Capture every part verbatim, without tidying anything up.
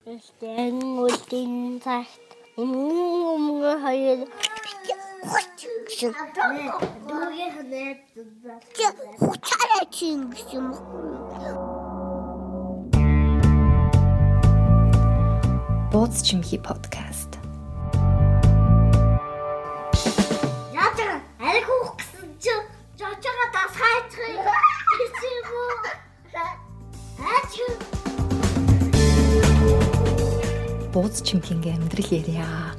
Стэн үлдийн цагт өмнө хоёр гэсэн. Дүүгээ ханаад хуцаараа чинь гэсэн юм. Бууз чимхи подкаст. Яатар аль хөөх гэсэн чи жочоо дас хайцгыг гэсэн үү? Аач Бууз чимхинගේ амьдрал ярья.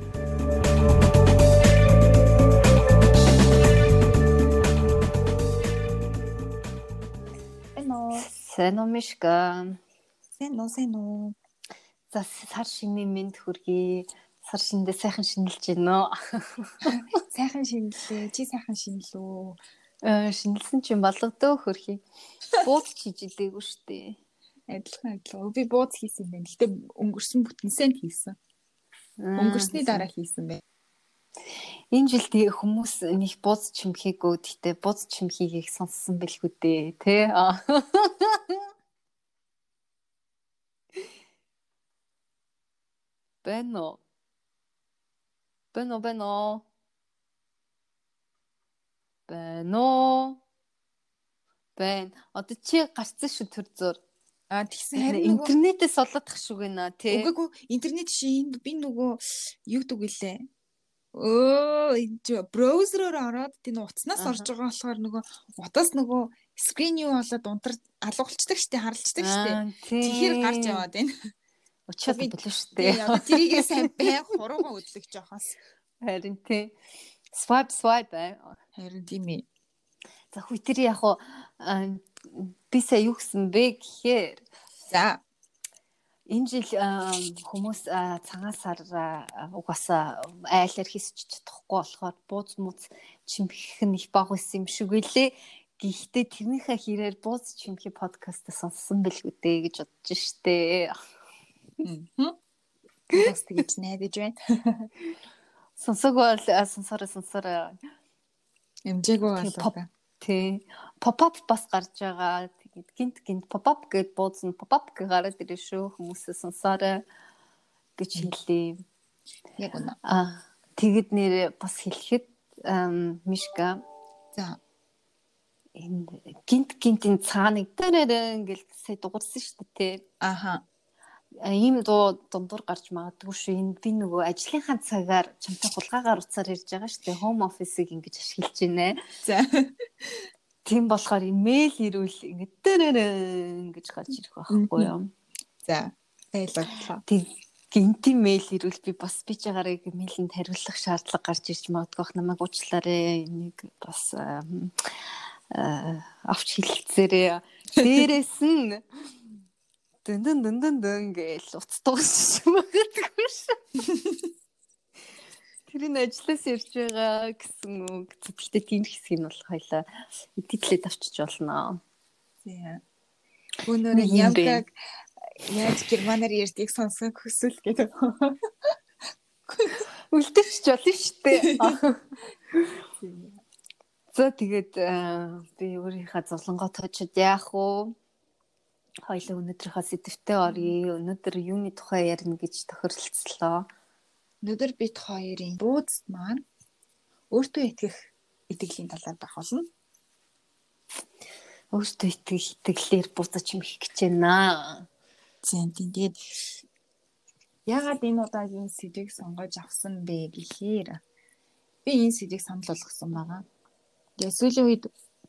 Эно, Сэно мишка. сэно, сэно. За сар шинийн мэнд хүргэе. Сар шиндээ сайхан шинэлж гинөө. Сайхан шинэлээ. Чи сайхан шинэлөө. Э шинэлсэн чинь болгодөө хөрхий. Бууз чижилээгүй штэ. Адилхан адилхан. Би бууз хийсэн юм байна. Гэтэ өнгөрсөн бүтэнсэнд хийсэн. Өнгөрсний дараа хийсэн бай. Энэ жилдээ хүмүүс нэг бууз чимхийгөө гэхдээ бууз чимхийг сонссон бэлгүй дээ, тэ? Бэно. Бэно бэно. Бэно. Бэн. Одоо чи гарцсан шүү төр зур. А тэгсэн харин нөгөө интернетээс олоодах шүү гэнэ, тэ? үгүй интернет шин би нөгөө юу гэдэг лээ. Өө браузероор ороод тийм утаснаас орж байгаа болохоор нөгөө утас нөгөө скрин юу болоод унтар алгуулцдаг штэ харалцдаг штэ. Тэгэхээр гарч яваад байна. Учаад болов штэ. Тийм одоо тэрийгээ сайн бай хуруугаа өдлөх жоохоос. Харин тий. Swipe swipe бай. Харин тийм ээ. За хүй тэр яг хуу би сая юу гэсэн бэ гэхээр За энэ жил хүмүүс цагаан сар угаасаа айлаар хийсч чадахгүй болохоор бууз мууз чимхэх нь их бага байсан юм шиг үлээ. Гэхдээ тэрнийхээ хэрээр бууз чимхи подкаст сонссон бэлгүй дээ гэж бодож штэ. Хм. Бас тэгж найдаж байна. Сонсог бол сонсороо сонсороо. Эмжээгөө болоо. Тий. Pop-up бас гарч байгаа. Тэгээд гинт гинт pop-up гэд бууз нь pop-up гэ гараад ирээ шүү. Хүмүүсээ сонсоорой гэж хэллээ. Яг үнэ. Аа тэгэд нэр бас хэлэхэд мишка за энэ гинт гинтийн цааныг дээрээ ингээл сая дуурсан шүү дээ тий. Аха. Ийм дуу дундуур гарч магадгүй шүү. Энэ би нөгөө ажлынхаа цагаар чамтай хулгаагаар уцаар ирж байгаа шүү дээ. Home office-ыг ингэж ашиглаж байна. За. Тийм болохоор имэйл ирүүл ингэ дээрээ ингэж гарч ирэх байхгүй юу? За. Байлаа. Тэг гинти мэйл ирүүл би бас би ч агарыг мэйлэнд хариулах шаардлага гарч ирж магадгүй намайг уучлаарай. Энийг бас авч хэлцээрээ. Дээрээс нь дэн дэн дэн дэн дэн гэж уцтуус магадгүй шүү. Тэрийн ажлаас ирж байгаа гэсэн үг. Гэхдээ тийм хэсгийг нь болох хоёлаа эдитлээд авчиж болно. Тийм. Өнөөдөр ямкаг яаж германаар ярьдгийг сонсох хүсвэл гэдэг. Үлдээч болно шүү дээ. За тэгээд би өөрийнхөө зовлонгоо тоочод яах вэ? Хоёлаа өнөөдрийнхөө сэдвтээ оръё. Өнөөдөр юуны тухай ярина гэж тохиролцлоо. Өнөөдөр бид хоёрын бууз маань өөртөө итгэх итгэлийн талаар байх болно. Өөртөө итгэх итгэлээр бууз чимхэх гэж байна. Тийм тэгээд ягаад энэ удаагийн сэдвийг сонгож авсан бэ гэхээр би энэ сэдвийг санал болгосон байгаа. Тэгээд сүүлийн үед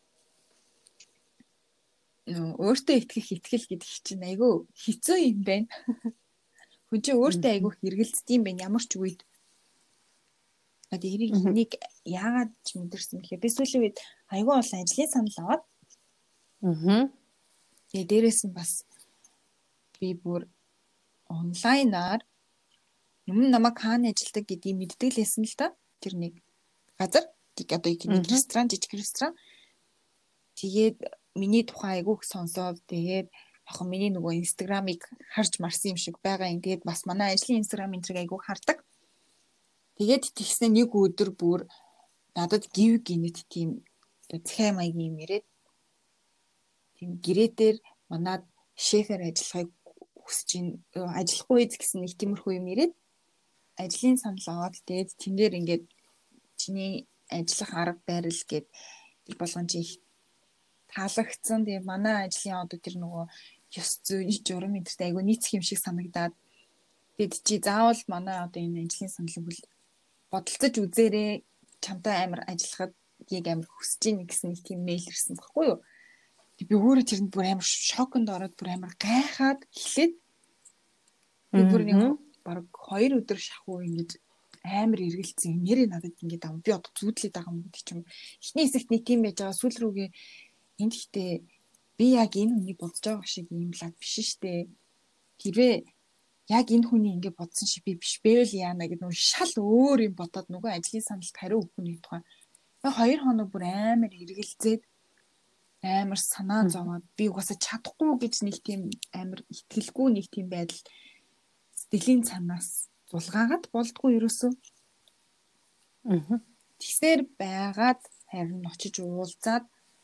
өөртөө итгэх итгэл гэдэг чинь айгүй хэцүү юм байна. Хүн чинь өөртөө айгүй хэрэгэлцдэг юм байна ямар ч үед. Одоо эрийг энийг яагаад ч мэдэрсэн гэхээр би сүүлийн үед айгүй олон ажлын санал аваад. Аа. Тэгээд дээрэс нь бас би бүр онлайнаар юм намайг хаана ажилладаг гэдгийг мэддэг лээсэн л да. Тэр нэг газар одоо нэг ресторан жижиг ресторан. Тэгээд миний тухай айгүйх сонсоод тэгээд яг миний нөгөө инстаграмыг харж марсан юм шиг байгаа юм. Тэгээд бас манай ажлын инстаграм энтриг айгүйх хардаг. Тэгээд тэгснэ нэг өдөр бүр надад гів гинэт тийм цахим маягийн юм ирээд тийм гэрээ дээр манад шефээр ажиллахыг хүсэж ин ажиллахгүй эз гэсэн нэг тиймэрхүү юм ирээд ажлын санал аваад тэгээд тэн дээр ингээд чиний ажиллах арга барил гээд тэр болгон чи их таалагдсан. Тэгээд манай ажлын одоо тэр нөгөө ёс зүй журам энтертэй айгу нийцэх юм шиг санагдаад тэгээд чи заавал манай одоо энэ ажлын саналыг бол бодолцож үзээрэй. Чамтай амар ажиллахад яг амар хүсэж ийн гэсэн нэг тийм мэйл ирсэн баггүй юу? Би өөрөө тэрэнд бүр амар шоконд ороод бүр амар гайхаад эхлээд би бүр нэг баг хоёр өдөр шахуу ингэж амар эргэлцсэн. Нэрээ надад ингэж ам би одоо зүудлээд байгаа юм гэдэг чинь эхний хэсэгт нэг тийм байж байгаа сүүл рүүгээ энд ихтэй би яг энэ хүнийг бодож байгаа шиг юм лаг биш штэ. Тэрвээ яг энэ хүний ингэ бодсон шиг би биш байвал яана гэдэг нэг шал өөр юм бодоод нөгөө ажлын саналд хариу өгөх хүний тухай. Яг хоёр хоног бүр амар эргэлзээд амар санаа зовоод би угаасаа чадахгүй гэж нэг тийм амар итгэлгүй нэг тийм байдал сэтгэлийн цанаас зулгаагаад болдгүй ерөөсөө. Аа. Тэгсээр байгаад харин очиж уулзаад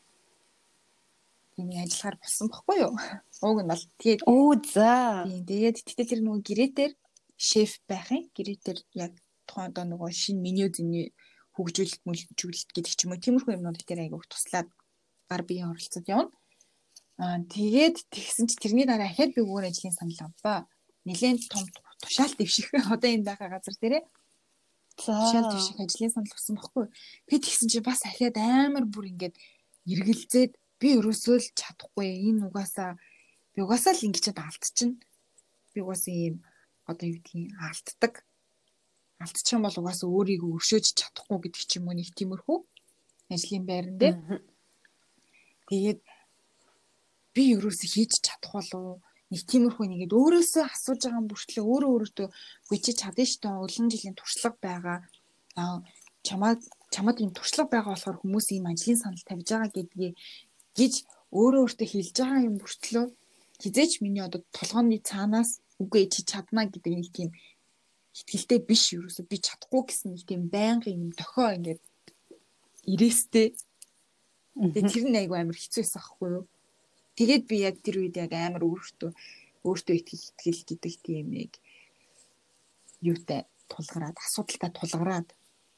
тийм ажиллахаар болсон байхгүй юу? Уг нь бол тэгээд оо за. Тийм тэгээд тэгтээ тэр нөгөө гэрээтэр шеф байх юм. Гэрээтэр яг тухайн одоо нөгөө шинэ меню зэний хөгжүүлэлт мүлжүүлэлт гэдэг ч юм уу тиймэрхүү юмнууд дээр айгуух туслаад гар биеийн оролцоод явна. Аа тэгээд тэгсэн чи тэрний дараа ахаад би өөр ажлын санал авлаа. Нилээн том тушаал дэвших одоо энэ байгаа газар дээрээ тушаал дэвших ажлын санал авсан баггүй. Би тэгсэн чи бас ахаад амар бүр ингээд эргэлзээд би өрөөсөө л чадахгүй энэ угаасаа би угаасаа л ингэчээд алдчихна. Би угаасаа ийм одоо юу гэдгийг алддаг. Алдчих юм бол угаасаа өөрийгөө өршөөж чадахгүй гэдэг ч юм уу нэг тиймэрхүү ажлын байран дээр. Тэгээд би ерөөсөө хийж чадах болов нэг тиймэрхүү нэгэд өөрөөсөө асууж байгаа юм бүртлээ өөрөө өөртөө үгүй чи чадна штэ олон жилийн туршлага байгаа. Аа чамаа чамд ийм туршлага байгаа болохоор хүмүүс ийм ажлын санал тавьж байгаа гэдгийг гэж өөрөө өөртөө хэлж байгаа юм бүртлөө хизээч миний одоо толгооны цаанаас үгүй чи чадна гэдэг нэг тийм итгэлтэй биш ерөөсөө би чадахгүй гэсэн нэг тийм байнгын юм дохио ингээд ирээстэй. Тэгээд тэр нь айгүй амар хэцүү байсан ахгүй юу? Тэгээд би яг тэр үед яг амар өөртөө өөртөө итгэл итгэл гэдэг тийм нэг юутай тулгараад асуудалтай тулгараад.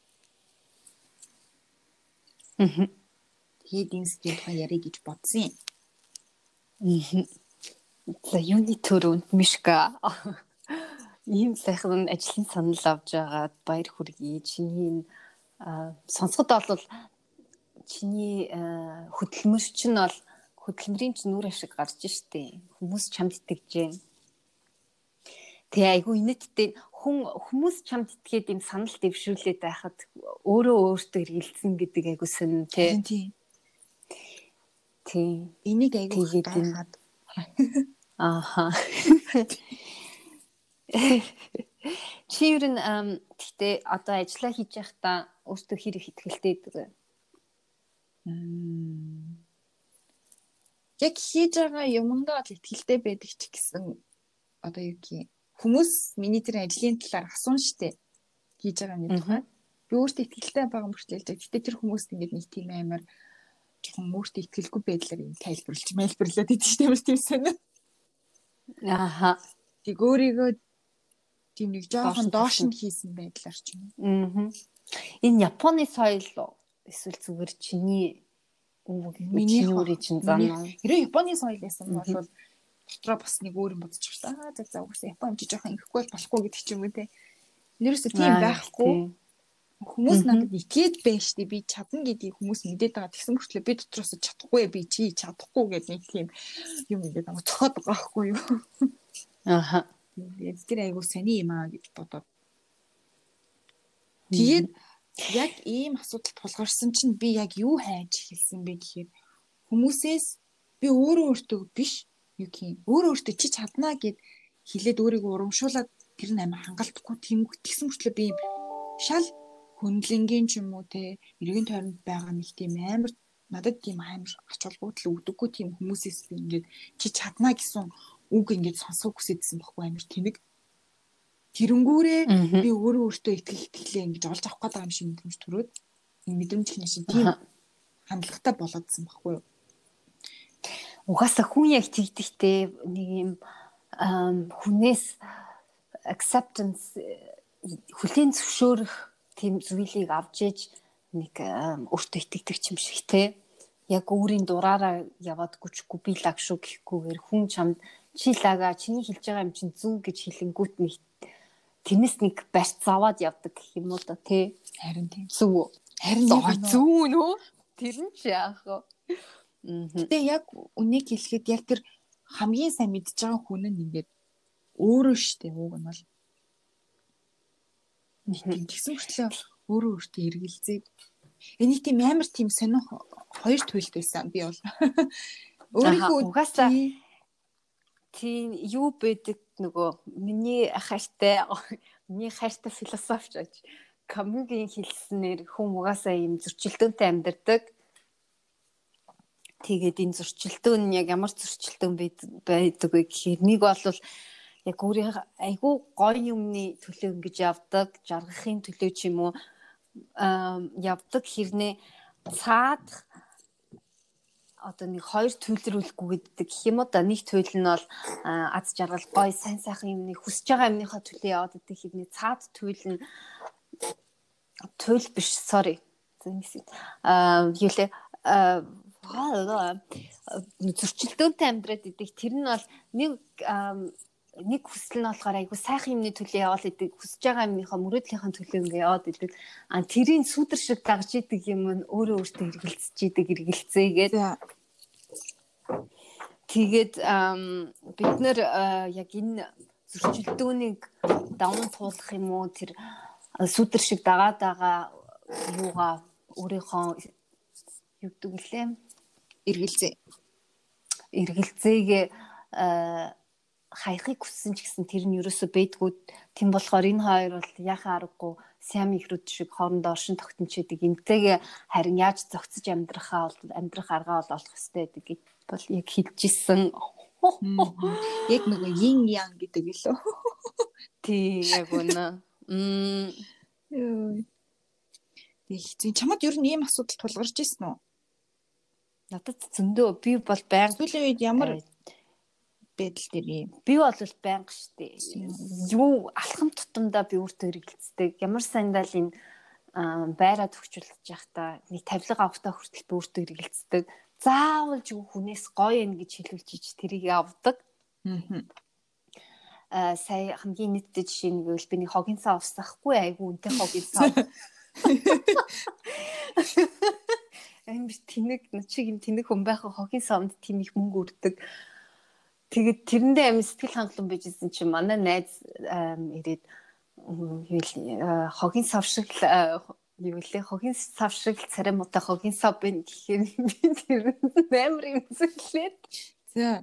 Аа. Тэгээд энэ сэтгэл тухай ярих гэж бодсон юм. Аа. За юуны төрөнд Мишка ийм сайхан ажлын санал авч байгаад баяр хүргэе. Чиний сонсоход бол чиний хөдөлмөрч нь бол хөдөлмөрийн ч нүрэ шиг гарч штэ. Хүмүүс чамд итгэжээ. Тэгээ айгүй инээдтэй хүн хүмүүс чамд итгээд юм санал дэвшүүлээд байхад өөрөө өөртөө эргэлзэн гэдэг айгүй сонин тий. Тийм. Тийм. Энийг айгүй гайхаад. Ааха. Чи юу н тэгтээ одоо ажиллаа хийж байхдаа өөртөө хэр их итгэлтэй байдаг вэ? Мм. Яг хийж байгаа юмдаа л итгэлтэй байдаг ч гэсэн одоо юу гэх юм хүмүүс миний тэр ажлын талаар асуун штэ хийж байгаа юм тухай. Би өөртөө итгэлтэй байгаа мөртлөө л гэхдээ тэр хүмүүст ингээд нэг тийм амар жоохон өөртөө итгэлгүй байдлаар юм тайлбарлаж мэлбэрлээд идэв штэ ямар тийм сонио. Ааха. Тэг өөрийгөө тийм нэг жоохон доош нь хийсэн байдлаар ч юм. Аа. Энэ Японы соёл эсвэл зүгээр чиний миний өөрийн чинь зам. Хэрэв Японы соёл байсан бол дотроо бас нэг өөр юм бодож байгаа. Аа за за угсаа Япон юм чи жоохон ингэхгүй болохгүй гэдэг ч юм уу те. Нэрээсээ тийм байхгүй. Хүмүүс надад итгээд байна штэ би чадна гэдгийг хүмүүс мэдээд байгаа. Тэгсэн мөртлөө би дотроос чадахгүй би чи чадахгүй гэдэг нэг тийм юм ингээд байгаа цохоод байгаа байхгүй юу. Ааха. Тэгээд тэр айгуу сони юм аа гэж бодоод. Тэгээд яг ийм асуудал тулгарсан чинь би яг юу хайж эхэлсэн бэ гэхээр хүмүүсээс би өөрөө өөртөө биш юу гэх юм өөрөө өөртөө чи чаднаа гэд хэлээд өөрийгөө урамшуулад тэр нь амар хангалтгүй тийм тэгсэн мөртлөө би шал хөндлөнгийн ч юм уу те эргэн тойронд байгаа нэг тийм амар надад тийм амар ач холбогдол өгдөггүй тийм хүмүүсээс би ингээд чи чаднаа гэсэн үг ингээд сонсох хүсэжсэн байхгүй амар тэнэг тэрэнгүүрээ би өөрөө өөртөө итгэх итгэлээ ингэж олж авах гэдэг юм шиг мэдрэмж төрөөд энэ мэдрэмж их шиг тийм хандлагатай болоодсан байхгүй юу. Угаасаа хүн яг тэгдэхтэй нэг юм ам хүнээс acceptance хүлийн зөвшөөрөх тийм зүйлийг авч иж нэг өөртөө итгэдэг юм шиг те. Яг өөрийн дураараа яваад гүчгүй би лаг шүү гэхгүйгээр хүн чамд чи лага чиний хэлж байгаа юм чинь зүг гэж хэлэнгүүт нэг тэрнээс нэг барьц аваад явдаг гэх юм уу да тий. Харин тийм. Зүг. Харин зүг нөө. Тэр нь ч яах вэ? Тэгээ яг үнийг хэлэхэд яг тэр хамгийн сайн мэдж байгаа хүн нь ингээд өөрөө штэ ууг нь бол. Нэг тэгсэн хүртлээ өөрөө өөртөө эргэлзээд энийг тийм амар тийм сонир хоёр туйлд байсан би бол. Өөрийнхөө угаасаа тийм юу байдаг нөгөө миний хайртай миний хайртай философч аж Камюгийн хэлснээр хүн угаасаа юм зөрчилдөөнтэй амьдардаг. Тэгээд энэ зөрчилдөөн нь яг ямар зөрчилдөөн байдаг вэ гэхээр нэг бол яг өөрийн айгүй гоё юмны төлөө ингэж явдаг, жаргахын төлөө ч юм уу явдаг хэрнээ цаад одоо нэг хоёр төлрүүлэхгүй гэдэг гэх юм уу да. Нэг туйл нь бол аз жаргал гоё сайн сайхан юмны хүсэж байгаа юмныхаа төлөө яваад байдаг хэрнээ цаад туйл нь туйл биш sorry. Аа юу лээ зөрчилдөөнтэй амьдраад идэг. Тэр нь бол нэг нэг хүсэл нь болохоор айгу сайхан юмны төлөө яваад идэг. Хүсэж байгаа юмныхаа мөрөөдлийнхаа төлөө ингэ яваад идэг. А тэрийн сүдэр шиг дагж идэг юм нь өөрөө өөртөө эргэлзэж идэг, эргэлцээгээд. Тэгээд бид нэр яг энэ зөрчилдөөнийг даван туулах юм уу тэр сүдэр шиг дагаад байгаа юугаа өөрийнхөө юу гэдэг лээ эргэлзээ эргэлзээгээ хайхыг хүссэн ч гэсэн тэр нь ерөөсөө бэдгүүд тийм болохоор энэ хоёр бол яхаа аргагүй сям ихрүүд шиг хоорондоо оршин тогтночидэг эмтэйгээ харин яаж зохицож амьдрахаа бол амьдрах аргаа бол олох хэрэгтэй гэдэг бол яг хэлжсэн. Яг нөгөө yin yang гэдэг лөө. Тий яг үнэ. Мм ёо. Тэг чамд ер нь ийм асуудал тулгарч ирсэн үү? Надад зөндөө би бол байнга сүүлийн үед ямар байдал дээр юм. Би бол байнга штэ. Юу алхам тутамдаа би өөртөө эргэлцдэг. Ямар сандал энэ байраа төгчүүлж явахдаа нэг тавилга авахтаа хүртэл би өөртөө эргэлцдэг. Заавал ч хүнээс гоё юм гэж хэлүүлж ич тэрийг авдаг. Аа сая хамгийн нийтдээ жишээ нэг үл би нэг хогийн цаа устсахгүй айгу үнтэй хогийн цаа. Амар тэнэг чиг юм тэнэг хүн байхаа хогийн савнд тийм их мөнгө өрдөг. Тэгээд тэрэндээ амин сэтгэл хангалуун байжсэн чинь манай найз ирээд хогийн сав шиг юу лээ хогийн сав шиг царай муутай хогийн сав байна гэхээр би тэр амар юм зүйлээ. За.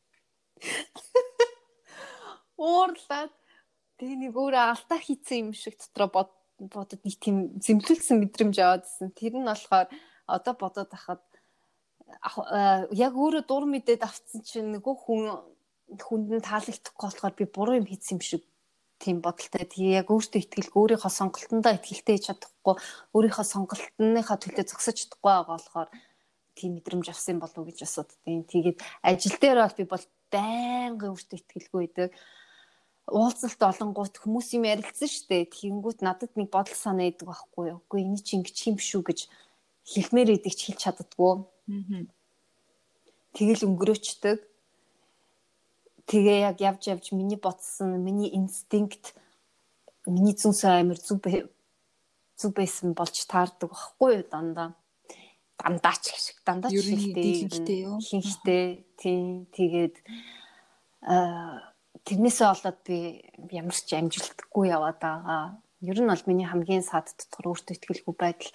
Уурлаад тэгээ нэг өөр алдаа хийцэн юм шиг дотроо бодод нэг тийм зэмлүүлсэн мэдрэмж аваадсэн. Тэр нь болохоор одоо бодоод ахад яг өөрөө дур мэдээд авцсан чинь нөгөө хүн хүнд нь таалагдахгүй болохоор би буруу юм хийсэн юм шиг тийм бодолтой. Тэгээ яг өөртөө итгэлгүй өөрийнхөө сонголтондоо итгэлтэй хийж чадахгүй өөрийнхөө сонголтныхаа төлөө зогсож чадахгүй байгаа болохоор тийм мэдрэмж авсан болов уу гэж асууддیں۔ Тэгээд ажил дээр бол би бол байнга өөртөө итгэлгүй байдаг. Уулзалт олонгууд хүмүүс юм ярилцсан штэ. Тэгэнгүүт надад нэг бодол санаа идэг байхгүй юу. Үгүй энэ чи ингэж юм шүү гэж хэлмээр идэг ч хэлж чаддаггүй. Аа. Тэгэл өнгөрөөчдөг. Тэгээ яг явж явж миний ботсон, миний инстинкт, миний зүнс амир зүв зүв байсан болж таардаг байхгүй юу дандаа. Дандаа ч гэх дандаа ч хэлтэй юу. Хинхтэй тийм тэгээд аа тэрнээсээ болоод би ямар ч амжилтгүй яваад байгаа. Ер нь бол миний хамгийн сад дотор өөртөө итгэлгүй байдал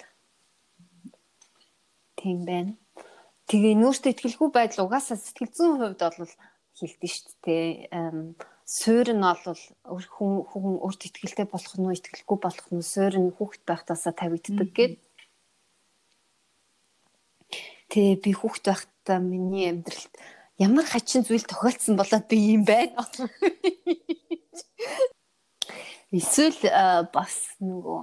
тийм байна. Тэгээ нөөстэй итгэлгүй байдал угаасаа сэтгэл зүйн хувьд бол хэлдэг шүү дээ. Суурь нь бол хүн хүн өөртөө итгэлтэй болох нь итгэлгүй болох нь суурь нь хүүхэд байхтаасаа тавигддаг гэдэг. Тэгээ би хүүхэд байхдаа миний амьдралд ямар хачин зүйл тохиолдсон болоод би юм байна. Эсвэл бас нөгөө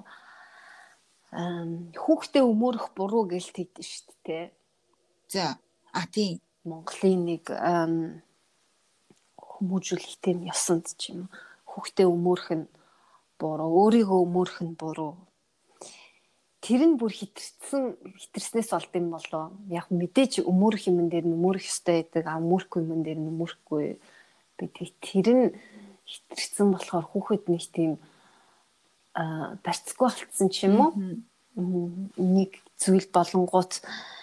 хүүхдээ өмөрөх буруу гэж тэгдэж шүү дээ. За, а тийм Монголын нэг хүмүүжүүлэх тийм ёсонд ч юм хүүхдээ өмөрөх нь буруу, өөрийгөө өмөрөх нь буруу. Тэр нь бүр хитэрсэн хитэрснээс болд юм болоо. Яг мэдээж өмөрөх юм дээр нь өмөрөх ёстой байдаг, а өмөрөхгүй юм дээр нь өмөрөхгүй. Би тэр нь хитэрсэн болохоор хүүхэд нэг тийм а барьцгүй болцсон ч юм уу. Нэг зүйл болонгууд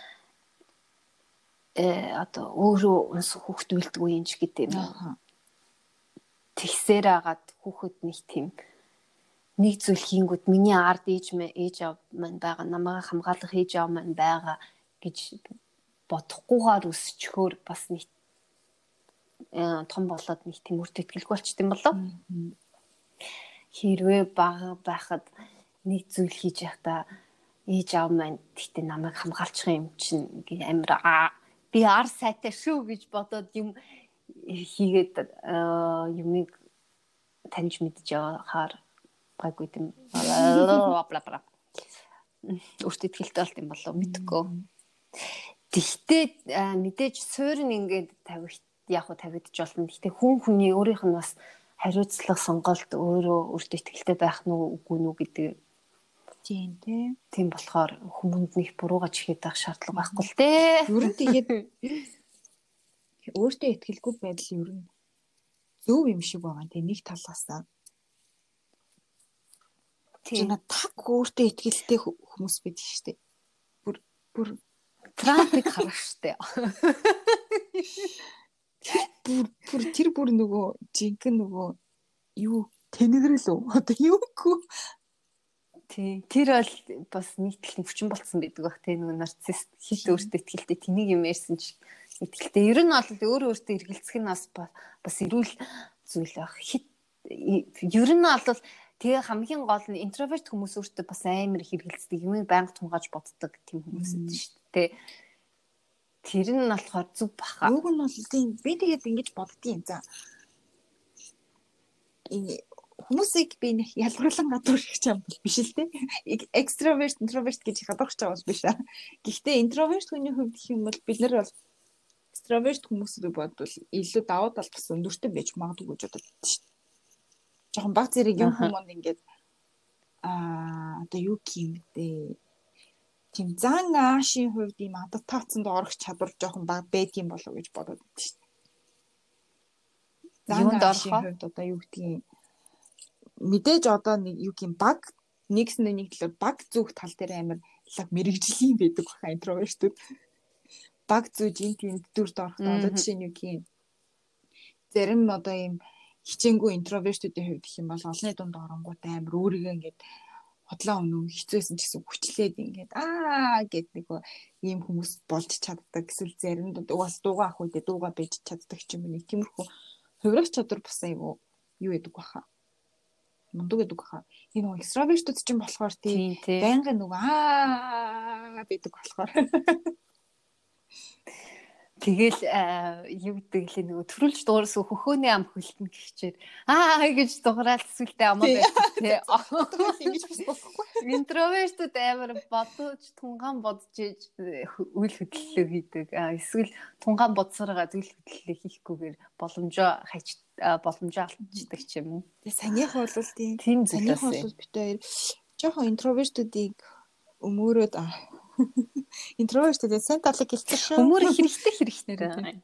э одоо өөрөө өнс хүүхэд үлдгүй юм ч гэдэг юм. Тэгсээр агаад хүүхэд нэг тийм нэг зүйл хийнгүүт миний ард ээж мэ ээж аав маань байгаа, намайг хамгаалах ээж аав маань байгаа гэж бодохгүйгээр өсчхөөр бас нэг том болоод нэг тийм үрт итгэлгүй болчт юм болоо. Хэрвээ бага байхад нэг зүйл хийж байхдаа ээж аав маань тэгтээ намайг хамгаалчих юм чинь амир аа би ар сайтай шүү гэж бодоод юм хийгээд юмыг таньж мэдж явахаар гайгүй юм. Өөртөө ихтэй болт юм болоо мэдгүй. Тэгтээ мэдээж суурь нь ингээд тавих яг уу тавигдж болно. Тэгтээ хүн хүний өөрийнх нь бас хариуцлага сонголт өөрөө өөртөө ихтэй байх нь үгүй нү гэдэг. Тийм тийм. Тийм болохоор хүмүүнд нэг буруугаж ихэд байх шаардлага байхгүй л дээ. Ер нь тэгээд өөртөө итгэлгүй байдал ер нь зөв юм шиг байгаа. Тэгээ нэг талаасаа тийм таг өөртөө итгэлтэй хүмүүс байдаг шүү дээ. Бүр бүр Трампыг харах шүү дээ. Бүр бүр тэр бүр нөгөө жинхэнэ нөгөө юу тэнэгрэл үү? Одоо юу гэх тий. Тэр бол бас нийтлэн хүчин болцсон байдаг бах тий нөгөө нарцисс хит өөртөө итгэлтэй тэнийг юм ярьсан чи итгэлтэй. Ер нь бол өөрөө өөртөө эргэлзэх нь бас бас эрүүл зүйл байх. Хит ер нь бол тэгээ хамгийн гол нь интроверт хүмүүс өөртөө бас амар хэрэгэлцдэг юм байнга тунгааж боддог тийм хүмүүс байдаг шүү дээ. Тэр нь болохоор зүг баха. Юуг нь бол тийм би тэгээд ингэж боддгийн за. Энэ хүмүүсийг би ялгарлан гадуурх юм бол биш л дээ. Extrovert, introvert гэж гадуурх байгаа юм биш аа. Гэхдээ introvert хүний хувьд гэх юм бол бид нар бол extrovert хүмүүсийг бодвол илүү давуу тал бас өндөртэй байж магадгүй гэж боддог шүү дээ. Жохон баг зэрэг юм хүмүүс ингээд аа одоо юу юм бэ? Тийм зан аашийн хувьд ийм адаптацанд орох чадвар жоохон баг байдгийн болов гэж бодоод байдаг шүү дээ. Юунд орохын хувьд одоо юу гэдгийг мэдээж одоо нэг юу юм баг нэгсэн нэг талаар баг зүг тал дээр амар лаг мэрэгжлийн байдаг баха интровертүүд. Баг зүг энэ тийм дүрд орохдоо одоо жишээ нь юу юм зарим одоо ийм хичээнгүй интровертүүдийн хувьд гэх юм бол олонний дунд оронгууд амар өөрийгөө ингээд хотлоо өнөө хэцүүсэн ч гэсэн хүчлээд ингээд аа гэд нэг ийм хүмүүс болж чаддаг эсвэл заримд угаас дуугаа ах үедээ дуугаа бэж чаддаг ч юм уу нэг тиймэрхүү хувирах чадвар бас айгу юу гэдэг баха мундаг гэдэг баха энэ нэг экстравертүүд ч юм болохоор тийм байнгын нэг аа гэдэг болохоор тэгэл юу гэдэг лээ нөгөө төрүүлж дуурсан хөхөөний ам хөлтөн гихчээр аа гэж дуграал сүлдээ амаа байдаг тий. Ингэж бас болохгүй. Интровертүүд амар бодож тунгаан бодож үйл хөдлөлөө хийдэг. Эсвэл тунгаан бодсороо үйл хөдлөлөө хийхгүйгээр боломжоо хайч боломжоо алдчихдаг ч юм уу. Тэгээ санийх бол тийм. Тийм санийх бол бит хоёр жоохон интровертүүдийг өмөрөөд интровертүүд сайн талыг хэлсэн шүү. Өмөр хэрэгтэй хэрэгтэй.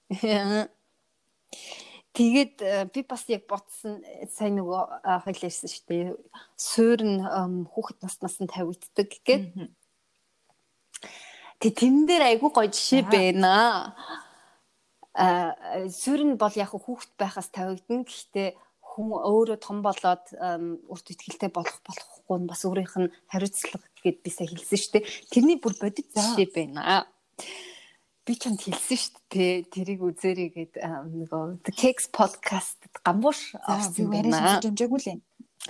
Тэгээд би бас яг ботсон сайн нөгөө хоёул ярьсан шүү дээ. Суурь нь хүүхэд наснаас нь тавигддаг гэд. Тэг тэн дээр айгүй гоё жишээ байна. А суурь нь бол яг хүүхэд байхаас тавигдана. Гэхдээ хүн өөрөө том болоод өөртөө итгэлтэй болох болохгүй нь бас өөрийнх нь хариуцлага гэд би сая хэлсэн шүү дээ. Тэрний бүр бодит жишээ байна. Би чамд хэлсэн шүү дээ. Тэрийг үзээрэй гэд нөгөө The Cakes podcast гамбууш авсан байна. Жимжээгүй л.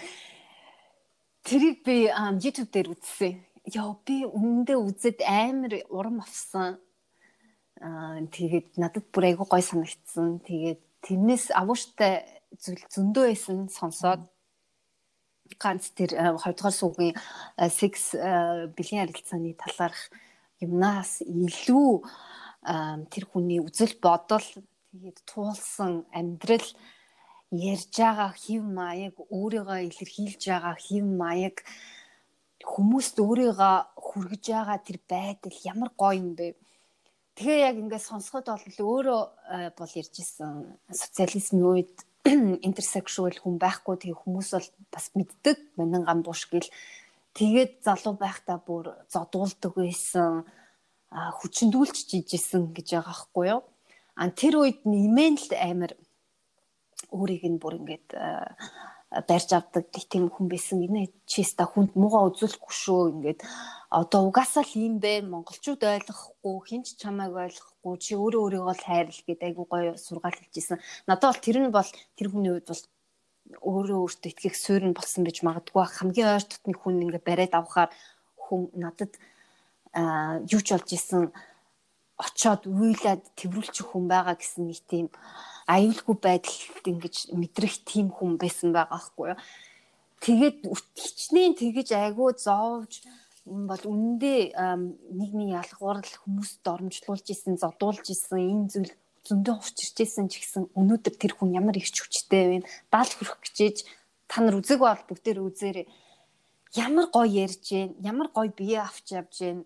Тэрийг би YouTube дээр үзсэн. Яа би өмнөдөө үзээд амар урам авсан. Аа тэгээд надад бүр айгүй гой санагдсан. Тэгээд тэрнээс агууштай зүйл зөндөө байсан сонсоод ганц тэр хоёрдугаар суугийн секс бэлгийн харилцааны талаарх юмнаас илүү тэр хүний үзэл бодол тэгээд туулсан амьдрал ярьж байгаа хэв маяг, өөрийгөө илэрхийлж байгаа хэв маяг, хүмүүст өөрийгөө хүргэж байгаа тэр байдал ямар гоё юм бэ. Тэгээ яг ингээд сонсоход бол өөрөө бол ярьж исэн социализмын үед интерсексуал хүн байхгүй, тэгээ хүмүүс бол бас мэддэг Манан Гамбууш гэл. Тэгээд залуу байхдаа бүр зодуулдаг байсан, хүчндүүлж жижсэн гэж байгаа байхгүй юу. А тэр үед нэмэн л амар өөрийг нь бүр ингээд барьж авдаг тийм хүн байсан. Энэ чиста хүнд муугаа үзүүлэхгүй шүү. Ингээд одоо угаасаа л юм бэ. Монголчууд ойлгохгүй, хинч чамайг ойлгохгүй, чи өөрөө өөрийгөө л хайрл гэдэг айгу гоё сургаал хэлжсэн. Надад бол тэр нь бол тэр хүний үед бол өөрөө өөртөө итгэх суурь нь болсон байж магадгүй. Хамгийн ойр дотны хүн ингээд бариад авахаар хүн надад юу ч болж исэн очоод уйлаад тэрвүүлчих хүн байгаа гэсэн нэг тийм аюулгүй байдалд ингэж мэдрэх тийм хүн байсан байгаа байхгүй юу. Тэгээд хичнээн тэгэж айгүй зовж бол үнэндээ нийгмийн ялгуур хүмүүст доромжлуулж исэн, зодуулж исэн энэ зүйл зөндөө хувчирч исэн ч гэсэн өнөөдөр тэр хүн ямар их хүчтэй вэ? Даал хүрэх гэжээж та нар үзэг бол бүгдээр үзээрэй. Ямар гоё ярьж гэн, ямар гоё бие авч явж гэн.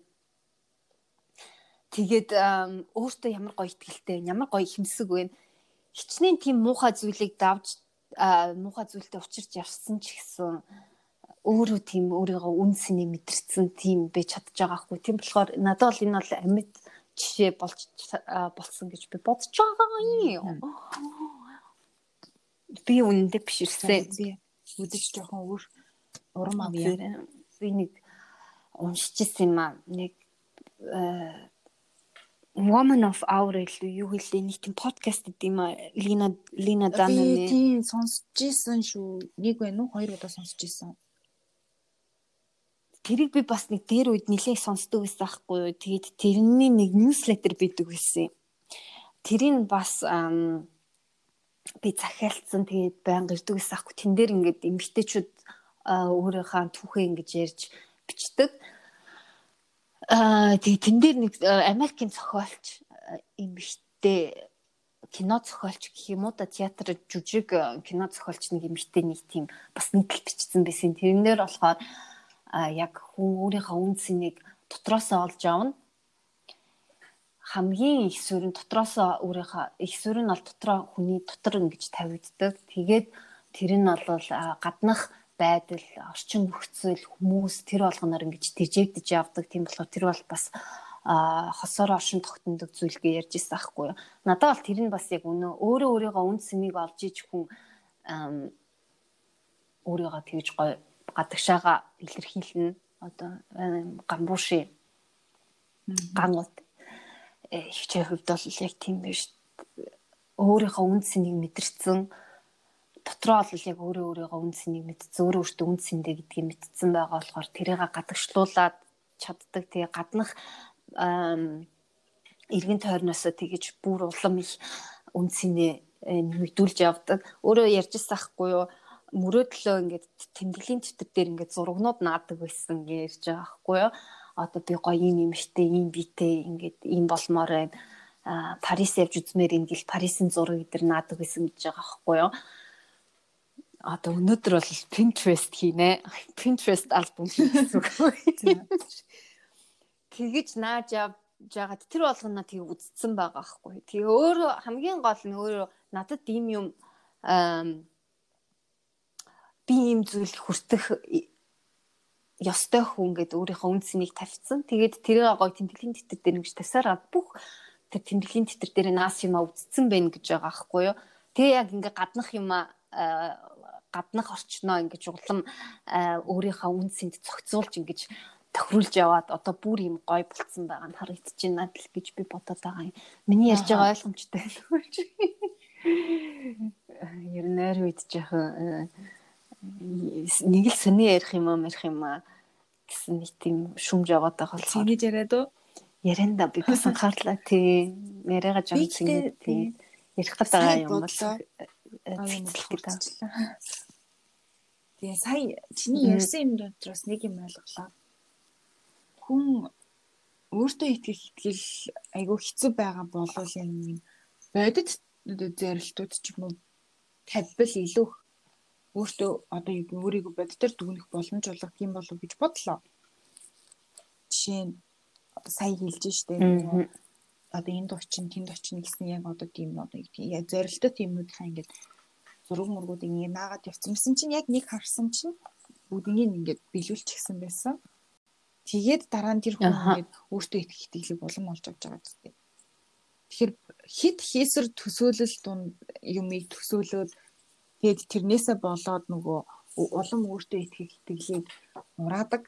Тэгээд өөртөө ямар гоё итгэлтэй, ямар гоё ихэмсэг вэ? Хичнээн тийм муухай зүйлийг давж муухай зүйлтэй учирч явсан ч гэсэн өөрөө тийм өөрийгөө үнсэний мэдэрсэн тийм байж чадж байгаа хгүй. Тийм болохоор надад бол энэ бол амьд жишээ болж болсон гэж би бодож байгаа юм. Би үнэндээ биш ирсэн. Би үдэж жоохон өөр урам авъя. Би нэг уншижсэн юм аа. Нэг Woman of Hour юу хэлээ нэг тийм подкаст гэдэг юм аа. Лина Лина Дананы. Тийм сонсож ирсэн шүү. Нэг байна уу? Хоёр удаа сонсож ирсэн. Тэрийг би бас нэг дээр үед нэлээд сонсдог байсан байхгүй юу. Тэгээд тэрний нэг ньюслетер бидэг байсан. Тэрийг бас би захиалцсан тэгээд байнга ирдэг байсан байхгүй. Тэн дээр ингээд эмэгтэйчүүд өөрийнхөө түүхээ ингэж ярьж бичдэг. Аа тэгээд тэн дээр нэг Америкийн зохиолч эмэгтэй кино зохиолч гэх юм уу да, театр жүжиг кино зохиолч нэг эмэгтэй нэг тийм бас нийтлэл бичсэн байсан. Тэрнээр болохоор а яг хүн өөрийнхөө үн цэнийг дотроосоо олж авна. Хамгийн их суурь нь дотроосоо өөрийнхөө их суурь нь бол дотроо хүний дотор ингэж тавигддаг. Тэгээд тэр нь бол гаднах байдал, орчин нөхцөл, хүмүүс тэр болгоноор ингэж тэжээгдэж явдаг. Тийм болохоор тэр бол бас хосоор оршин тогтнодог зүйл гэж ярьж ирсэн байхгүй юу. Надад бол тэр нь бас яг өнөө өөрөө өөрийнхөө үн цэнийг олж иж хүн өөрийгөө тэгж гоё гадагшаага илэрхийлнэ. Одоо Гамбууши гангууд ихчийн хувьд бол яг тийм биш. Өөрийнхөө үн цэнийг мэдэрсэн, дотроо бол яг өөрөө өөрийгөө үн цэнийг мэдсэн, өөрөө өөртөө үн цэндэ гэдгийг мэдсэн байгаа болохоор тэрийг гадагшлуулаад чаддаг. Тэгээ гаднах эргэн тойрноосоо тэгэж бүр улам их үн цэнээ нэмэгдүүлж явдаг. Өөрөө ярьжсэн ахгүй юу? Мөрөөдлөө ингээд тэмдэглэлийн дэвтэр дээр ингээд зурагнууд наадаг байсан гэж ярьж байгаа байхгүй юу. Одоо би гоё юм юмштэй, ийм биетэй ингээд ийм болмоор байна. Аа Парис явж үзмээр ингээл Парисын зураг эдэр наадаг байсан гэж байгаа байхгүй юу. Одоо өнөөдөр бол Pinterest хийнэ. Pinterest альбом хийсэн үг. Тэгэж нааж явж жагаад тэр болгоно тийг үзсэн байгаа байхгүй. Тэгээ өөрөө хамгийн гол нь өөрөө надад ийм юм би ийм зүйл хүртэх ёстой хүн гэдэг өөрийнхөө үн цэнийг тавьсан. Тэгээд тэрийг гоё тэмдэглэлийн дэвтэр дээр ингэж тавьсараа бүх тэр тэмдэглэлийн дэвтэр дээр наас юмаа үзсэн байх гэж байгаа байхгүй юу. Тэгээ яг ингээ гаднах юмаа гаднах орчноо ингэж улам өөрийнхөө үн цэнд зохицуулж ингэж тохируулж яваад одоо бүр юм гоё болцсон байгаа нь харагдаж байна л гэж би бодоод байгаа юм. Миний ярьж байгаа ойлгомжтой байна. Ер нь ойр үед жоохон нэг л сони ярих юм аа ярих юм аа гэсэн нэг тийм шүмж яваад байгаа бол цэнийг яриад уу? Яранда би бас анхаарлаа тий. Яриага жам цэнийг тий. Ярих гэдэг юм бол цэцлэх гэдэг. Тэгээ сая чиний ярьсан юм дотроос нэг юм ойлголоо. Хүн өөртөө итгэх итгэл айгүй хэцүү байгаа болов юм бодит зөрилтүүд ч юм уу тавьбал илүү өөртөө одоо юу гэх өөрийгөө боддоор дүгнэх боломж олгох юм болов гэж бодлоо. Жишээ нь сая хэлж штэ нөгөө одоо энд очин тэнд очин гэсэн яг одоо тийм одоо яг зорилттой тиймүүдийнхаа ингээд зураг мургуудыг ингээд наагаад явцсан чинь яг нэг харсан чинь бүгднийг ингээд биелүүлчихсэн байсан. Тэгээд дараа нь тэр хүн ингээд өөртөө их итгэлийг улам олж авч байгаа гэдэг. Тэгэхээр хит хийсэр төсөөлөл дунд юмыг төсөөлөөд тэгээд тэрнээсээ болоод нөгөө улам өөртөө итгэх итгэлийг ураадаг.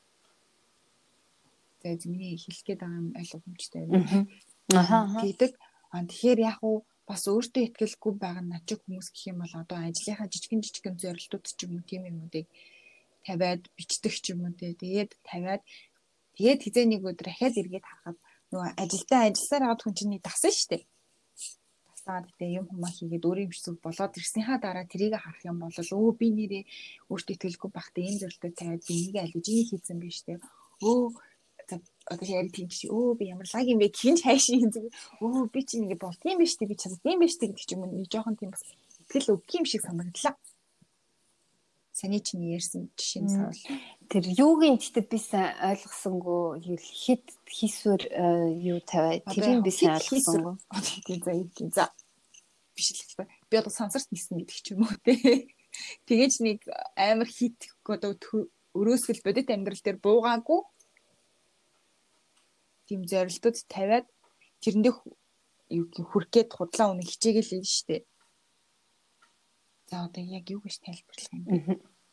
Тэгээд миний хэлэх гээд байгаа юм аль боломжтой байна. Аха. Гэдэг. А тэгэхээр яг уу бас өөртөө итгэлгүй байгаа начиг хүмүүс гэх юм бол одоо ажлынхаа жижигэн жижигэн зорилтууд ч юм уу тийм юмнуудыг тавиад бичдэг ч юм уу тэгээд тавиад тэгээд хизээ нэг өдөр ахаад эргээд харахад нөгөө ажилдаа ажилласаар аваад хүн чинь дасан штэ. Дасаад тэгээд юм хүмүүс хийгээд өөрийн бичсэг болоод ирснийхаа дараа тэрийг харах юм бол өө би нэрээ өөртөө итгэлгүй байхдаа энэ зорилтыг тавиад би энийг аль гэж энийг хийсэн биш штэ. Өө одоо яри тийм чи өө би ямар лаг юм бэ хинч хайш юм зүг өө би чи ингэ болт юм биш үү би чаддаг юм биш үү гэдэг ч юм уу нэг жоохон тийм бас итгэл өгөх юм шиг санагдлаа. Саний чиний ярьсан жишээ нь савл. Тэр юугийн гэхдээ би сайн ойлгосонгүй юу хит хийсвэр юу тавиад тэрийг би сайн ойлгосонгүй. Тийм за ийм за биш л хэвээр би одоо сансарт нисэн гэдэг ч юм уу те. Тэгэж нэг амар хит одоо өрөөсгөл бодит амьдрал дээр буугаагүй тийм зорилтууд тавиад тэрэндээ юу хүрх гээд худлаа үнэ хичээгээл нь штэ. За одоо яг юу гэж тайлбарлах юм бэ?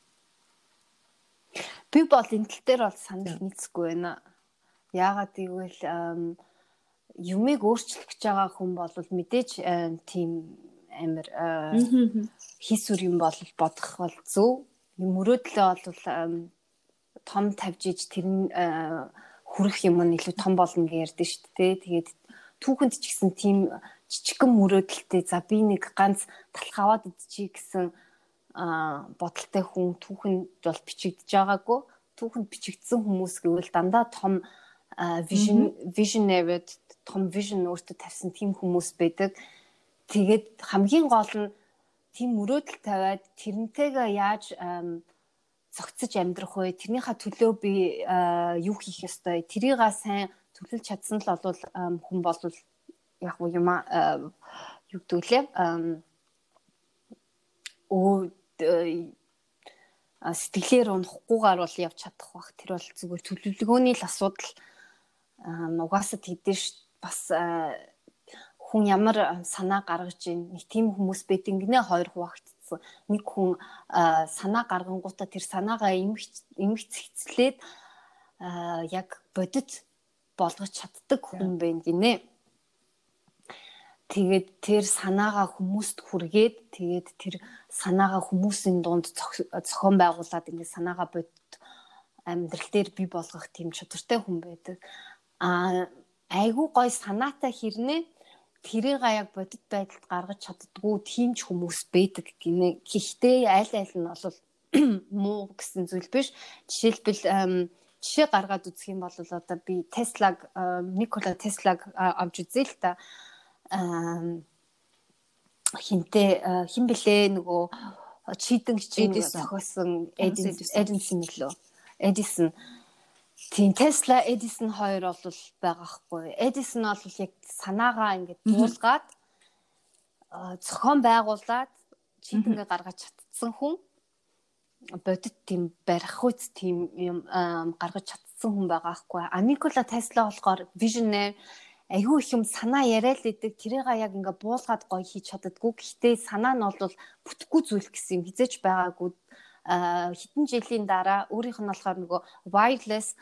Би бол энэ тал дээр бол санал нийцэхгүй байна. Яагаад гэвэл юмыг өөрчлөх гэж байгаа хүн бол мэдээж тийм амар хийсвэр юм бол бодох бол зөв. Мөрөөдлөө бол том тавьж иж тэр нь хүрэх юм нь илүү том болно гэж ярьдэн шүү дээ. Тэгээд түүхэнд ч гэсэн тийм жижигхэн мөрөөдөлтэй за би нэг ганц талх аваад идчихье гэсэн бодолтой хүн түүхэнд бол бичигдэж байгаагүй. Түүхэнд бичигдсэн хүмүүс гэвэл дандаа том vision visionary том vision өөртөө тавьсан тийм хүмүүс байдаг. Тэгээд хамгийн гол нь тийм мөрөөдөл тавиад тэрнтэйгээ яаж цогцож амьдрах вэ? Тэрнийхээ төлөө би юу хийх ёстой? Тэрийгээ сайн төлөвлөж чадсан л бол хүн бол яг уу юм юу гэдүүлээ оо сэтгэлээр унахгүйгээр бол явж чадах бах. Тэр бол зүгээр төлөвлөгөөний л асуудал. Угаасаа тийдэж бас хүн ямар санаа гаргаж ийн нэг тийм хүмүүс байд ингэнэ хоёр хуваагдсан. Нэг хүн санаа гаргангуудаа тэр санаагаа эмгц хэцлээд яг бодит болгож чаддаг хүн байна гинэ. Тэгээд тэр санаагаа хүмүүст хүргээд тэгээд тэр санаагаа хүмүүсийн дунд зохион байгуулад ингээд санаагаа бодит амьдрал дээр бий болгох тийм чадвартай хүн байдаг. А айгүй гой санаатай хэрнээ тэрийг яг бодит байдалд гаргаж чаддгүй тийм ч хүмүүс байдаг гинэ. Гэхдээ аль аль нь бол муу гэсэн зүйл биш. Жишээлбэл жишээ гаргаад үзэх юм бол одоо би Теслаг Никола Теслаг авч үзээ л та. Хинтээ хин блэ нөгөө чийдэн чинь зохиосон Эдисон лөө. Эдисон тийм Tesla Edison хоёр бол байгаа хгүй. Edison бол яг санаагаа ингээд буулгаад зохион байгуулад чийдэнгээ гаргаж чадсан хүн. Бодит тийм барих үз тийм юм гаргаж чадсан хүн байгаа хгүй. А Никола Tesla болохоор visionary айгүй их юм санаа яриад л идэг. Тэрийгээ яг ингээд буулгаад гоё хийж чаддаггүй. Гэхдээ санаа нь бол бүтэхгүй зүйл гэсэн юм хизээч байгаагүй. Хэдэн жилийн дараа өөрийнх нь болохоор нөгөө wireless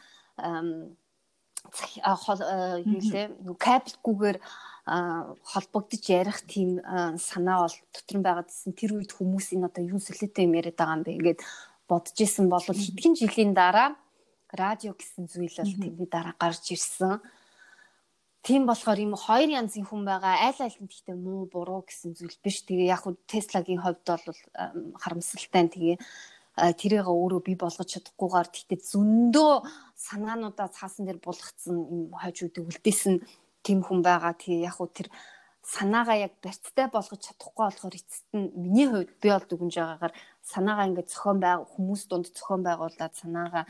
юулээ нөгөө кабелгүйгээр холбогдож ярих тийм санаа бол дотор нь байгаадсэн. Тэр үед хүмүүс энэ одоо юу солиотой юм яриад байгаа юм бэ гэгээд бодож исэн бол хэдхэн жилийн дараа радио гэсэн зүйл бол тэрний дараа гарч ирсэн. Тийм болохоор ийм хоёр янзын хүн байгаа. Айл айл нь гэхдээ муу буруу гэсэн зүйл биш. Тэгээ яг хөө Tesla-гийн хувьд бол харамсалтай. Тэгээ тэрийг өөрөө бий болгож чадахгүйгээр тэгтээ зөндөө санаануудаа цаасан дээр булгацсан юм хойж үдэг үлдээсэн тийм хүн байгаа. Тэгээ яг хөө тэр санаагаа яг барьцтай болгож чадахгүй болохоор эцэст нь миний хувьд би бол дүгнж байгаагаар санаагаа ингээд зохион байг хүмүүс дунд зохион байгуулад санаагаа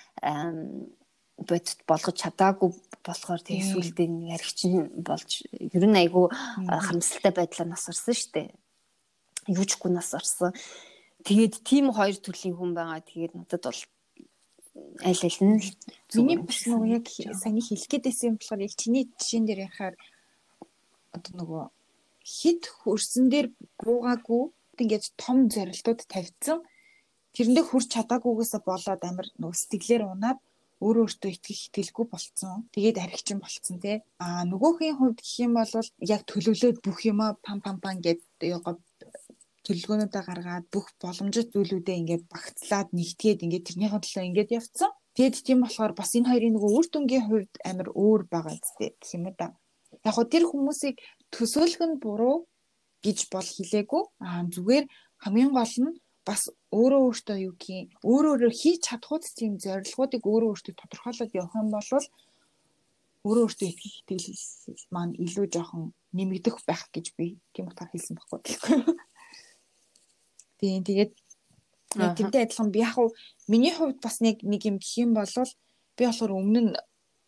бодит болгож чадаагүй болохоор тэг сүултээ нэг аригчин болж ер нь айгүй харамсалтай байдлаар нас орсон шүү дээ. Юучгүй нас орсон. Тэгээд тийм хоёр төрлийн хүн байгаа. Тэгээд надад бол аль аль нь миний бас нөгөө яг саний хэлэх гээдсэн юм болохоор яг чиний жишээн дээр ярихаар одоо нөгөө хит хөрсөн дээр буугаагүй ингээд том зорилтууд тавьсан. Тэрэндээ хүрч чадаагүйгээсээ болоод амар нөгөө сэтгэлээр унаад өөрөө өөртөө итгэх итгэлгүй болцсон. Тэгээд аригчин болцсон тий. Аа нөгөөхийн хувьд гэх юм бол яг төлөвлөөд бүх юмаа пам пам пам гэдэг төлөвлөгөөнүүдээ гаргаад бүх боломжит зүйлүүдээ ингээд багцлаад нэгтгээд ингээд тэрнийхээ төлөө ингээд явцсан. Тэгэд тийм болохоор бас энэ хоёрын нөгөө үр дүнгийн хувьд амар өөр байгаа зү гэх юм да. Яг хөө тэр хүмүүсийг төсөөлөх нь буруу гэж бол хэлээгүй. Аа зүгээр хамгийн гол нь бас өөрөө өөртөө юу гэх юм өөрөө өөрөө хийж чадхууд тийм зорилгоодыг өөрөө өөртөө тодорхойлоод явах юм бол өөрөө өөртөө итгэх итгэл маань илүү жоохон нэмэгдэх байх гэж би тийм утгаар хэлсэн байхгүй гэхгүй. Тийм тэгээд яг тэмтэй адилхан би яг миний хувьд бас нэг нэг юм гэх юм бол би болохоор өмнө нь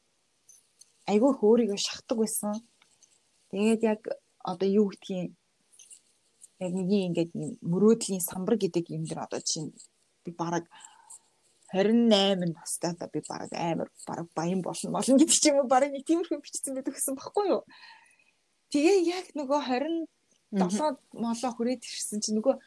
айгүй өөрийгөө шахдаг байсан. Тэгээд яг одоо юу гэдгийг яг нэг ингээд мөрөөдлийн самбар гэдэг юм дээр одоо чинь би бараг хорин найман настай та би бараг амар бараг баян болно болно гэдэг ч юм уу бараг нэг тиймэрхүү бичсэн байдаг гэсэн баггүй юу. Тэгээ яг нөгөө хорин долоо молоо хүрээд ирсэн чинь нөгөө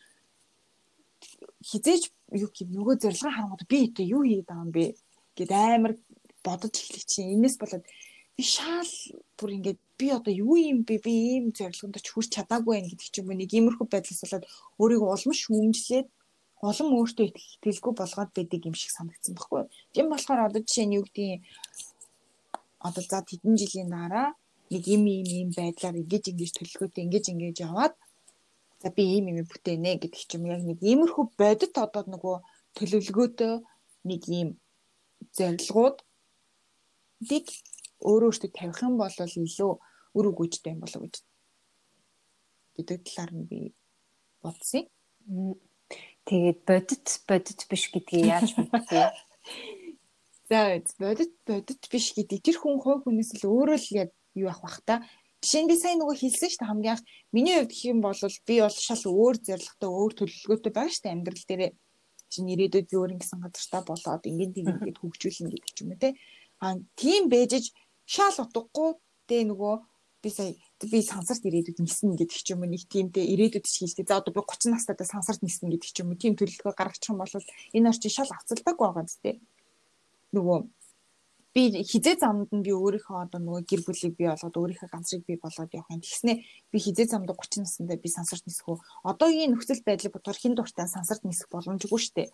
хизээж юу гэх нөгөө зорилгоо харангууд би одоо юу хийгээд байгаа юм бэ гэд амар бодож эхлэх чинь энэс болоод би шаал бүр ингээд би одоо юу юм бэ би ийм зорилгонд ч хүрч чадаагүй байх гэдэг ч юм уу нэг иймэрхүү байдлаас болоод өөрийгөө улам шүүмжлээд улам өөртөө итгэлгүй болгоод байдаг юм шиг санагдсан байхгүй. Тийм болохоор одоо жишээ нь юу гэдгийг одоо за хэдэн жилийн дараа нэг юм ийм ийм байдлаар ингэж ингэж төлөвлөгөөтэй ингэж ингэж яваад за би ийм юм бүтээнэ гэдэг ч юм яг нэг иймэрхүү бодит одоо нөгөө төлөвлөгөөтэй нэг ийм зорилгууд дэг өөрөө өөртөө тавих юм бол илүү үр өгөөжтэй юм болов гэж гэдэг талаар нь би бодсон. Тэгээд бодит бодит биш гэдгийг яаж мэдвэ? За бодит бодит биш гэдэг тэр хүн хой хүнээс л өөрөө л яг юу авах бах та. Жишээ нь би сайн нөгөө хэлсэн шүү дээ хамгийн анх миний хувьд гэх юм бол би бол шал өөр зорилготой өөр төлөвлөгөөтэй байгаа шүү дээ амьдрал дээрээ чинь ирээдүйд би өөр ингэсэн газартаа болоод ингээд ингээд хөгжүүлнэ гэдэг ч юм уу те. Аа тийм бэжж шал утгагүй дээ нөгөө би сая би сансарт ирээдүйд ниснэ гэдэг ч юм уу нэг тиймтэй ирээдүйд ч хэлдэг. За одоо би гучин настайдаа сансарт ниснэ гэдэг ч юм уу тийм төлөвлөгөө гаргачих юм бол энэ орчин шал авцалдаггүй байгаа зү. Нөгөө би хизээ замд нь би өөрийнхөө одоо нөгөө гэр бүлийг бий болгоод өөрийнхөө ганцыг бий болгоод явах юм. Тэгснэ би хизээ замд гучин наснда би сансарт нисэх үү? Одоогийн нөхцөл байдлыг бодохоор хин дуртай сансарт нисэх боломжгүй шүү дээ.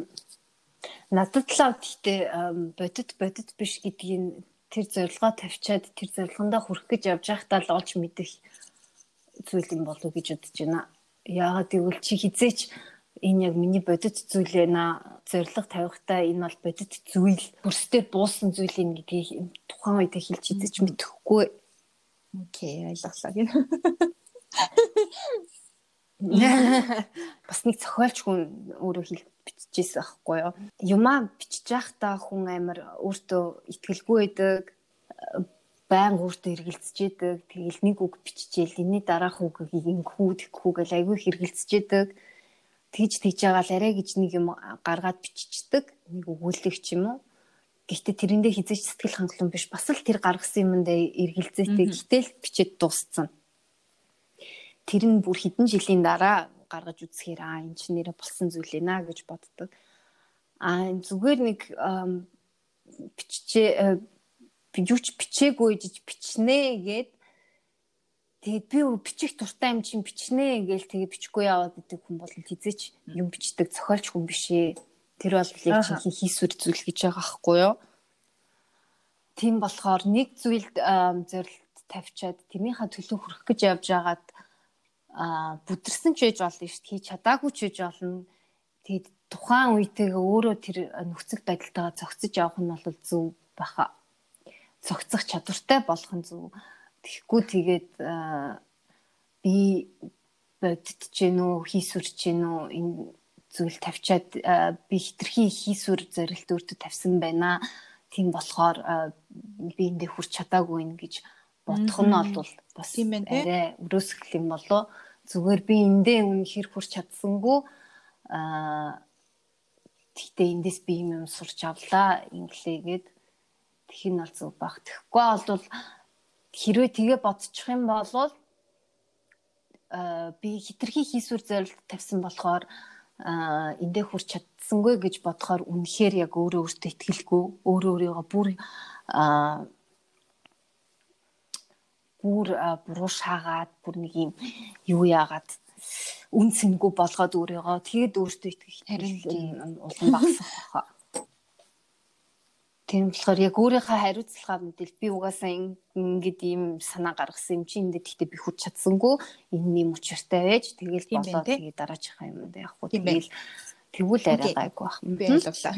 Надад л гэхдээ бодит бодит биш гэдгийг тэр зорилгоо тавьчаад тэр зорилгондоо хүрэх гэж явж байхдаа л олж мэдэх зүйл юм болов гэж бодож байна. Яагаад гэвэл чи хизээч энэ яг миний бодит зүйл ээ зорилго тавихтаа энэ бол бодит зүйл бүрстээр буусан зүйл юм гэдгийг тухайн үед хэлж идэж мэдэхгүй. Окей, ойлголоо гин. Бас нэг зохиолч хүн өөрөө хэл бичижсэн аахгүй юу. Юмаа бичиж байхдаа хүн амар өөртөө итгэлгүй байдаг, байнга өөртөө хэргэлцэж байдаг. Тэгэл нэг үг биччихээл энэний дараах үгийг ингэхүү тэгхүү гэл айгүй хэргэлцэж байдаг. Тэгж тэгж байгаа л арай гэж нэг юм гаргаад биччихдэг. Нэг өгүүлэг ч юм уу. Гэхдээ тэрэндээ хизээч сэтгэл хангалуун биш. Бас л тэр гаргасан юмдаа эргэлзээтэй. Гэтэл бичээд дууссан. Тэр нь бүр хэдэн жилийн дараа гаргаж үзэхээр аа энэ ч нэрэ болсон зүйл ээ наа гэж боддог. Аа зүгээр нэг биччихээ би юу ч бичээгүй гэж бичнэ гээд тэгээд би бичих дуртай юм чинь бичнэ гээл тэгээд бичихгүй яваад идэг хүн бол хизээч юм бичдэг зохиолч хүн биш ээ. Тэр бол яг чинь хийсвэр зүйл гэж байгаа байхгүй юу? Тийм болохоор нэг зүйлд зорилт тавьчаад тэрнийхээ төлөө хүрэх гэж явж байгаад а бүдэрсэн ч байж болно шүү дээ. Хийж чадаагүй ч байж болно. Тэгээд тухайн үетэйгээ өөрөө тэр нөхцөл байдалтайгаа зохицож явах нь бол зөв баха. Зохицох чадвартай болох нь зөв. Тэгэхгүй тэгээд би боддож гин үү, хийсвэрч гин үү, энэ зүйл тавьчаад би хитрхи хийсвэр зорилт өөртөө тавьсан байна. Тийм болохоор би эндээ хүрч чадаагүй юм гэж бодох нь бол бас арай өрөөсгөл юм болоо. Зүгээр би эндээ үнэхээр хүрч чадсангүй. Аа тэгтээ эндээс би юм сурч авлаа инглигээд тэгэх нь бол зөв баг. Тэгэхгүй бол хэрвээ тэгээ бодчих юм бол би хитрхи хийсвэр зорилт тавьсан болохоор эндээ хүрч чадсангүй гэж бодохоор үнэхээр яг өөрөө өөртөө итгэлгүй, өөрөө өөрийгөө бүр бүр буруу шаагаад бүр нэг юм юу яагаад үн цэнгүй болгоод өөрийгөө тэгээд өөртөө итгэх харин улам багасах баха. Тийм болохоор яг өөрийнхөө хариуцлагаа мэдэл би угаасаа ингэдэг ийм санаа гаргасан юм чи эндээ тэгтээ би хүч чадсангүй энэ юм учиртай байж тэгэл болоо тэгээд дараачихаа юм да яг хөө тэгэл тэгвэл арай гайгүй бах. Би ойлголаа.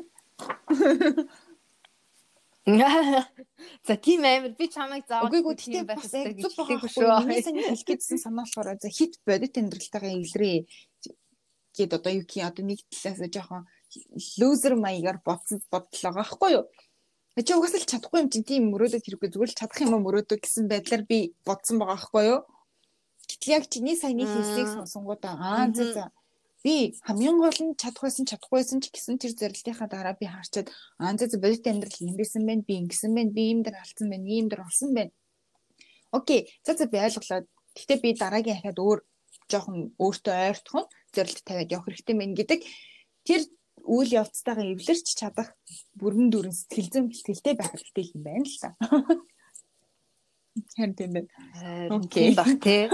За тийм амар би чамайг заавал үгүй тэгтээ байх хэрэгтэй гэж хэлээгүй шүү. Миний саний хэлэх гэсэн санаа болохоор за хит бодит амьдралтайгаа илрээ гээд одоо юу гэх юм одоо нэг талаас жоохон лузер маягаар бодсон бодлоо байхгүй юу. Чи угаасаа л чадахгүй юм чи тийм мөрөөдөө хэрэггүй зүгээр л чадах юм мөрөөдөө гэсэн байдлаар би бодсон байгаа байхгүй юу. Гэтэл яг чиний саяны хэлсийг сонсонгуудаа аа за би хамгийн гол нь чадах байсан чадахгүйсэн ч гэсэн тэр зорилтынхаа дараа би харчаад аа за бодит амьдрал юм байсан байна би ингэсэн байна би ийм дэр алдсан байна ийм дэр олсон байна. Окей за за би ойлголоо. Гэхдээ би дараагийн хахад өөр жоохон өөртөө ойртох нь зорилт тавиад явах хэрэгтэй мэн гэдэг тэр үйл явцтайгаа эвлэрч чадах бүрэн дүрэн сэтгэл зүйн бэлтгэлтэй байх хэрэгтэй юм байна л та. Харин тийм байна. Окей баг тий.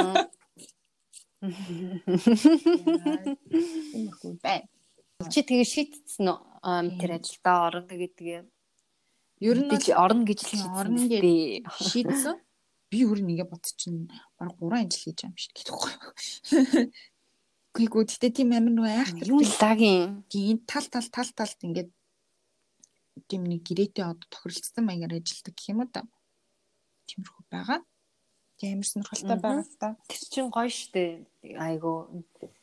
Иймэрхүү байна. Чи тэгээ шийдсэн үү тэр ажилдаа орно гэдэг юм. Ер нь би орно гэж л орно гэж шийдсэн. Би өөр нэгэ бодчихно. Бараг гурван ажил хийж байгаа юм шиг гэдэггүй. Гүйгүү тэгтээ тийм амин нөө айхтар юу лагийн тийм тал тал тал талд ингээд тийм нэг гэрээтэй одоо тохиролцсон маягаар ажилладаг гэх юм уу та. Тиймэрхүү байгаа. Тийм амар сонирхолтой байгаа та. Тэр чинь гоё штэ. Айгу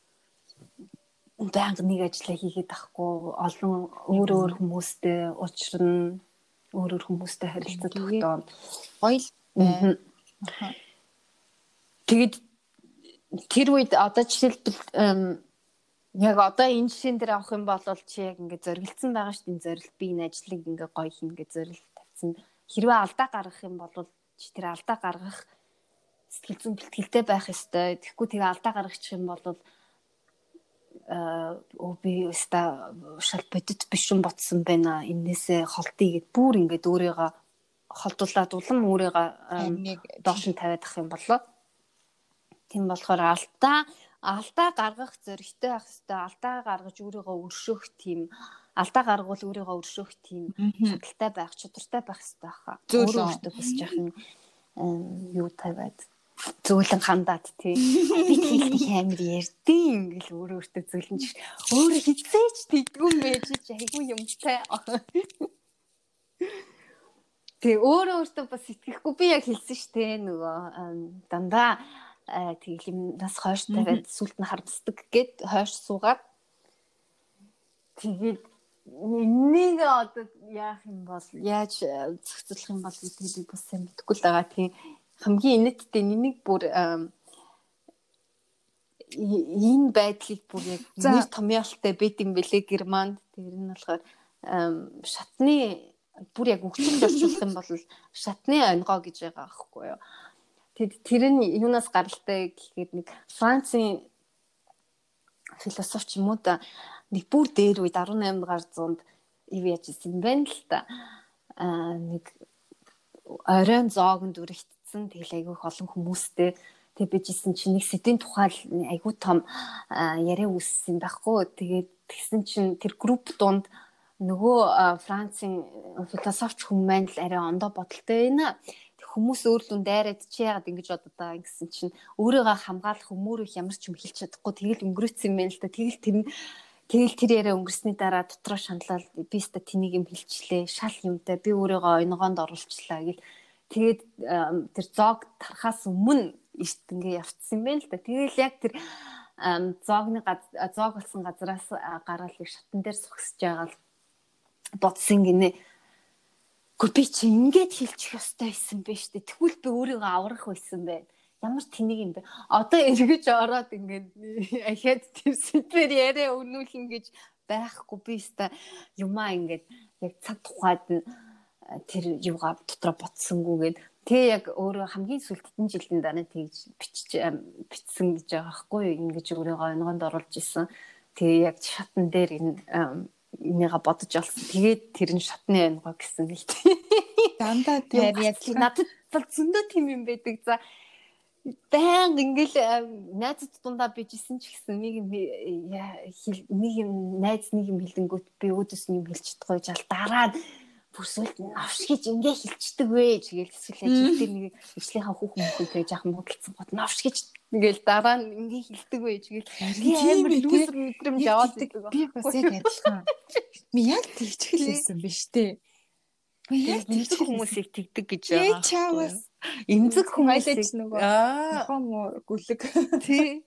банк нэг ажиллаа хийгээд ахгүй олон өөр өөр хүмүүстэй уулзрна, өөр өөр хүмүүстэй харилцаад тогтоно. Гоё л байна. Тэгэд тэр үед одоо жишээлбэл яг одоо энэ жишээн дээр авах юм бол чи яг ингээд зориглцсан байгаа шүү дээ. Энэ зорилт би энэ ажлыг ингээд гоё хийнэ гэж зорилт тавьсан. Хэрвээ алдаа гаргах юм бол чи тэр алдаа гаргах сэтгэл зүйн бэлтгэлтэй байх ёстой. Тэгэхгүй тэгээ алдаа гаргачих юм бол оо би өста шал бодит биш юм ботсон байна. Энээсээ холтыг гэд бүр ингээд өөрийгөө холдуулаад улам өөрийгөө доош нь тавиад ах юм болоо. Тийм болохоор алдаа алдаа гаргах зоригтой байх хэвээр алдаа гаргаж өөрийгөө өршөөх тийм алдаа гаргуул өөрийгөө өршөөх тийм чадaltaй байх чадвартай байх хэвээр байхаа. Өөрөө өөртөө бас яхан юу тавиад зөөлөн хандаад тий би тийх амар ярдیں۔ Ингээл өөрөө өөртөө зөөлөн ч өөрөө хизээч тэггүй мэж чи айгүй юмтай. Тэг өөрөө өөртөө бас итгэхгүй би яг хэлсэн штэ нөгөө дандаа тэгэл юм нас хойш тавиад сүлд нь харддаг гэд хойш суугаад тэгээд энийг одоо яах юм бол яаж зохицуулах юм бол гэдэг би бас сайн мэдэхгүй л байгаа. Тийм хамгийн инэттэй энийг бүр энэ байдлыг бүр яг нэр томьёолтой байд юм бэлээ Германд. Тэр нь болохоор шатны бүр яг өгчөлд орчуулах юм бол шатны онгоо гэж байгаа аахгүй юу. Тэр нь юунаас гаралтай гэхээр нэг Францын философч юм уу да нэг бүр дээр үед арван наймд гар зуунд юу яаж исэн байна л та. Аа нэг оройн зоогонд үрэгдсэн тэгэл айгүйх олон хүмүүстэй тэг bijсэн чинь нэг сэдвийн тухай айгүй том яриа үүссэн байхгүй. Тэгээд тэгсэн чинь тэр групп донд нөгөө Францын философч хүмүүс маань л арай ондоо бодолтой байна. Хүмүүс өөрлөн дайраад чи яагаад ингэж бодод байгаа гэсэн чинь өөрийгөө хамгаалах өмөрөх ямар ч юм хэлж чадахгүй тэгэл өнгөрөөцсөн юм байна л да. Тэгэл тэр нь тэгэл тэр яриа өнгөрсний дараа дотроо шаналал би ста тэнийг юм хэлчихлээ. Шал юмтай би өөрийгөө онгоонд оруулчлаа гэл тэгээд тэр зоог тарахаас өмнө ишт ингээ явцсан юм байна л да. Тэгэл яг тэр зоогны зоог болсон газраас гараад их шатан дээр сухсаж байгаа л бодсон гинэ. Гүр би чи ингээд хэлчих ёстой байсан бэ штэ. Тэгвэл би өөрийгөө аврах байсан байна. Ямар тэнийг юм бэ? Одоо эргэж ороод ингээд ахаад тэр сэдвэр яриа өнүүлэн гэж байхгүй би өстой юмаа ингээд яг цаг тухайд тэр юугаа дотроо ботсонгүйгээд тэг яг өөрөө хамгийн сүүлд хэдэн жилийн дараа тэгж бичиж бичсэн гэж байгаа байхгүй юу? Ингэж өөрийгөө онгонд оруулж исэн. Тэгээ яг шатан дээр энэ энийга бодож олсон. Тэгээд тэр нь шатны онгоо гэсэн л тийм. Дандаа тэр яг надад бол зөндөө тийм юм байдаг. За баян ингээл найзууд дундаа bijсэн ч гэсэн нэг юм нэг юм найз нэг юм хэлэнгүүт би өөдөөс нь юм хэлж чадахгүй жаал дараа бүсэлд навш гэж ингээ хэлцдэг вэ тэгэл эсвэл ажил дээр нэг өвчлийнхаа хүүхэн мөхөйтэй жаахан бодолцсон гот навш гэж ингээл дараа нь ингээ хэлдэг вэ тэгэл амар лүүсэр мэдрэмж яваад байдаг. Би бас яг адилхан. Би яг тэгж хэлсэн биш үү? Яг тэгдэг хүмүүсийг тэгдэг гэж байгаа. Ээ чаавас эмзэг хүмүүсийг нөгөө аа нохоо муу гүлэг тий.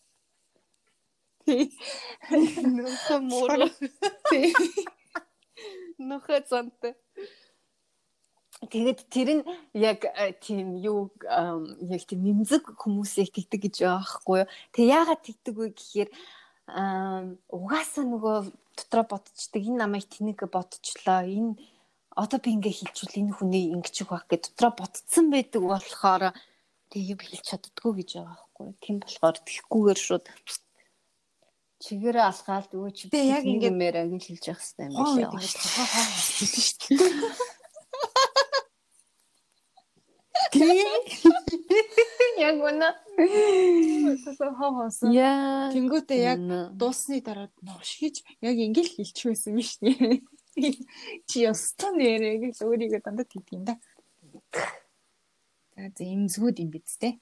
тий. Нохоо муу тий. Нохоо цантай. Тэгээд тэр нь яг тийм юу яг тийм эмзэг хүмүүсийг тэгдэг гэж байгаа байхгүй юу. Тэг яагаад тэгдэг вэ гэхээр угаасаа нөгөө дотроо бодчихдаг энэ намайг тэнэг бодчихлоо энэ одоо би ингээ хэлчихвэл энэ хүний ингэчих байх гэж дотроо ботцсон байдаг болохоор тэг хэлж чаддгүй гэж байгаа байхгүй юу. Тийм болохоор тэгхгүйгээр шууд чигээрээ алхаалд өө чи яг ингэ мээр агил хэлж явах хэрэгтэй юм биш яа. Хэлсэн шүү дээ. Яг үнэ. Хоосон. Яа. Тэнгүүтээ яг дуусны дараа нош хийж яг ингээл хэлчих байсан юм шнэ. Чи ястан нэрээ гэж өөрийгөө дандаа тэгдэг юм да. За за имзгүүд юм биз дээ.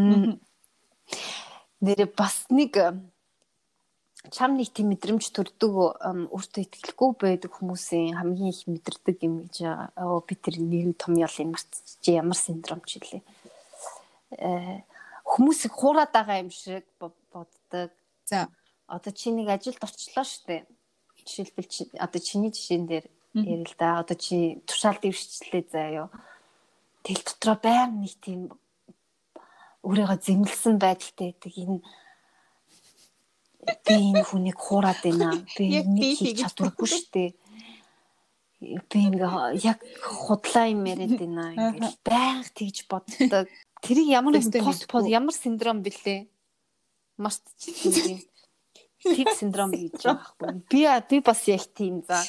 Нэрээ бас нэг чам нэг тийм мэдрэмж төрдөг өөртөө итгэлгүй байдаг хүмүүсийн хамгийн их мэдэрдэг юм гэж би тэр нэг том ял юм марцчих ямар синдром ч илээ. Э хүмүүсийг хуураад байгаа юм шиг боддог. За одоо чи нэг ажилд орчлоо штэ. Жишээлбэл чи одоо чиний жишээн дээр ярил л да. Одоо чи тушаал дэвшчлээ заа юу. Тэл дотроо байнга нэг тийм өөрийгөө зэмлсэн байдалтай байдаг. Энэ би энэ хүнийг хуураад байна. Би нэг хийж чадваргүй штэ. Би ингээ яг худлаа юм яриад байна. Ингээл байнга тэгж боддог. Тэрийг ямар нэг пост под ямар синдром бэлээ. Мартчихсан юм. Тип синдром гэж байгаа байхгүй. Би би бас яг тийм за.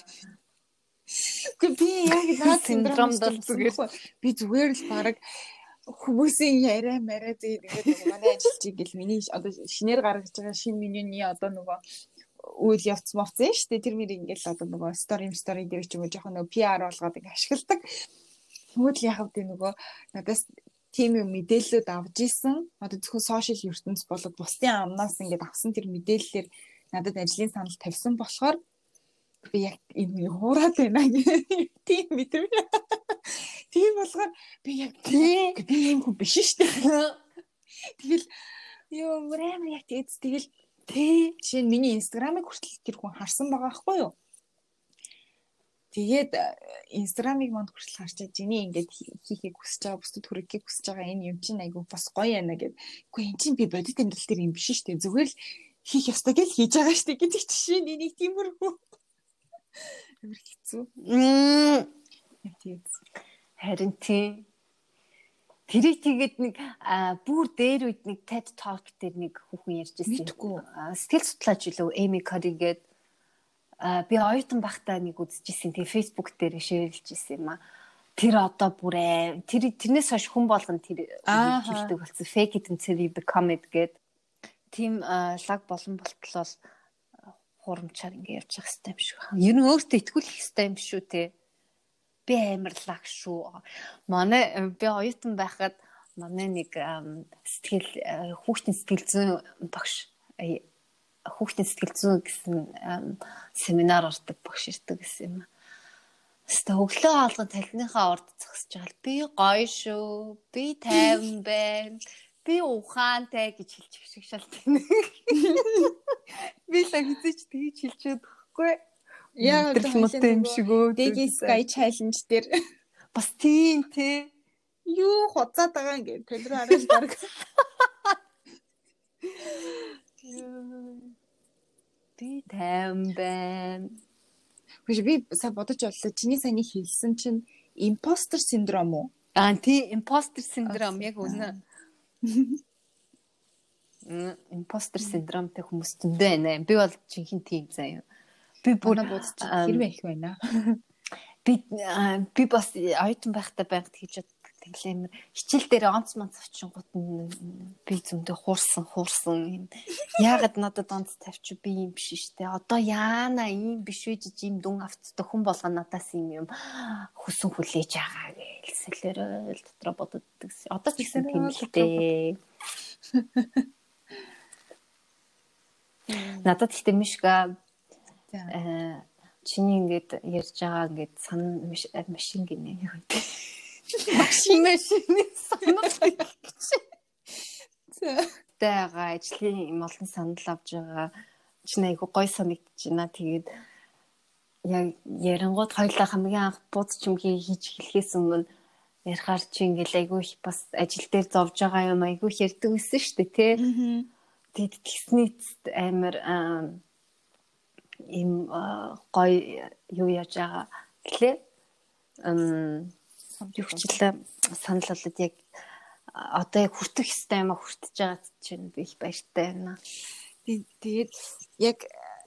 Гэхдээ би яг наад синдромд бол зүгээр би зүгээр л баг хүмүүсийн яриа мараа зээд ингээд манай ажилчиг гэл миний одоо шинээр гаргаж байгаа шинэ менюний одоо нөгөө үйл явц мовцсон шүү дээ. Тэр мэр ингээд одоо нөгөө стори стори дээр ч юм уу жоохон нөгөө пи ар болгоод ингээд ашигладаг. Тэгвэл яг хэвдээ нөгөө надаас тийм юм мэдээлэлүүд авж исэн. Одоо зөвхөн сошиал ертөнц болоод бусдын амнаас ингээд авсан тэр мэдээллээр надад ажлын санал тавьсан болохоор би яг энэ хуураад байна гэх тийм мэдрэмж. Тийм болохоор би яг би юм хүн биш шүү дээ. Тэгэл ёо мөрөм яг тийц тэгэл тий жишээ нь миний инстаграмыг хүртэл тэр хүн харсан байгаа байхгүй юу? Тэгээд инстаграмыг манд хүртэл харчаад жиний ингээд хийхийг хүсэж байгаа, бусдад хүрэхийг хүсэж байгаа энэ юм чинь айгүй бас гоё яана гэд. Үгүй эн чинь би бодит амьдрал дээр юм биш шүү дээ. Зүгээр л хийх ёстой гэж хийж байгаа шүү дээ гэдэг чинь нэг тиймэрхүү. Амар хэцүү. Мм. Тэгээс. Харин тий. Тэрийг тэгээд нэг бүр дээр үед нэг TED Talk дээр нэг хүүхэн ярьж ирсэн. Сэтгэл судлаач үлээ Эми Кори гээд би оюутан багтаа нэг үзчихсэн. Тэгээ Facebook дээр шеэрлж ирсэн юм а. Тэр одоо бүрээ тэр тэрнээс хойш хүн болгон тэр хэлдэг болсон. Fake it until you become it гээд тийм лаг болон болтлол хурамчаар ингэ явж явах хэрэгтэй юм шиг. Ер нь өөртөө итгүүлэх хэрэгтэй юм шүү те. Би амарлаг шүү. Манай би оюутан байхад манай нэг сэтгэл хүүхдийн сэтгэл зүйн багш хүүхдийн сэтгэл зүйн гэсэн семинар ордог багш ирдэг гэсэн юм. Хэвээ өглөө хаалган талхныхаа урд зогсож байгаа л би гоё шүү. Би тайван байна. би ухаантай гэж хэлчих шиг шалтгаан. Би л хизээч тэгж хэлчихээд байхгүй. Яа өдрөлмөтэй юм шиг өө. Digi Sky Challenge дээр бас тийм те. Юу хуцаад байгаа юм гээд тэр хараад баг. Би тайван байна. Биш би сая бодож бодлоо. Чиний саяны хэлсэн чинь imposter syndrome уу? Аа тий imposter syndrome яг үнэ. Мм imposter syndromeтэй хүмүүс зөндөө байна. Би бол жинхэнэ тийм заяа. Би бүр бодож хэрвээ их байна. Би би бас оюутан байхдаа байнга тэгж тэглэмэр хичээл дээр онц монц авчингууд би зөндөө хуурсан хуурсан. Яагаад надад онц тавьчих би юм биш штэ. Одоо яана ийм биш үү жиж ийм дүн авцдаг хүн болгоо надаас юм юм хүсэн хүлээж байгаа гэлсэлэрэл дотроо боддог. Одоо ч гэсэн тийм л дээ. Надад ихтэй мишга э чиний ингээд ярьж байгаа ингээд сан машин гинэ юу гэдэг. Машин машины санал гэж. Тэга ажлын юм олон санал авж байгаа. Чиний айгу гой санагдаж байна. Тэгээд яг ярингууд хоёлаа хамгийн анх бууз чимгээ хийж эхлэхээс өмнө ярихаар чи ингээл айгу их бас ажил дээр зовж байгаа юм айгу их ярьдаг байсан шүү дээ тий. Тэгэд тэгснийц амар им гой юу яаж байгаа гэлээ. Ам юучлаа санал болоод яг одоо яг хүртэх хэвээр юм а хүртэж байгаа чинь би их баяртай байна. Тэгээд яг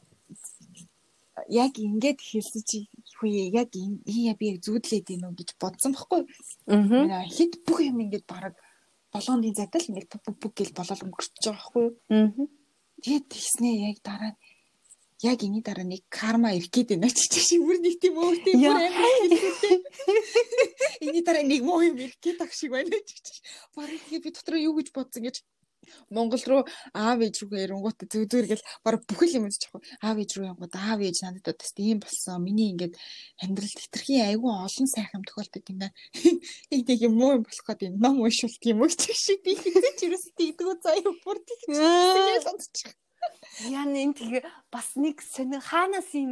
яг ингэж хэлсэн чи хүү яг энэ би яг зүудлээд ийн үү гэж бодсон байхгүй. Аа хэд бүх юм ингэж бараг болгоны зайтай л ингэж бүг бүг гэж болол өнгөрч байгаа байхгүй. Аа. Тэгээд тэгснээ яг дараа яг энэ дараа нэг карма ирэх гээд байна ч чи бүр нэг тийм өөртөө бүр амар хэлдэг. Эний дараа нэг муу юм ирэх гээд ах шиг байна ч чи. Бараг тэгээ би дотроо юу гэж бодсон гэж Монгол руу аав ээж рүү ярингууд зүг зүгэл бараг бүхэл юм үзчих. Аав ээж рүү янгууд аав ээж надад бас тийм болсон. Миний ингээд амьдралд хитрхийн айгүй олон сайхан тохиолдод юм байна. Нэг юм муу юм болох гээд энэ ном уншуулт юм уу гэх шиг би хэзээ ч ерөөс тийдгүү заяа бүр тэгж тэгээд сонсчих. Яа нэг тэгээ бас нэг сонир хаанаас юм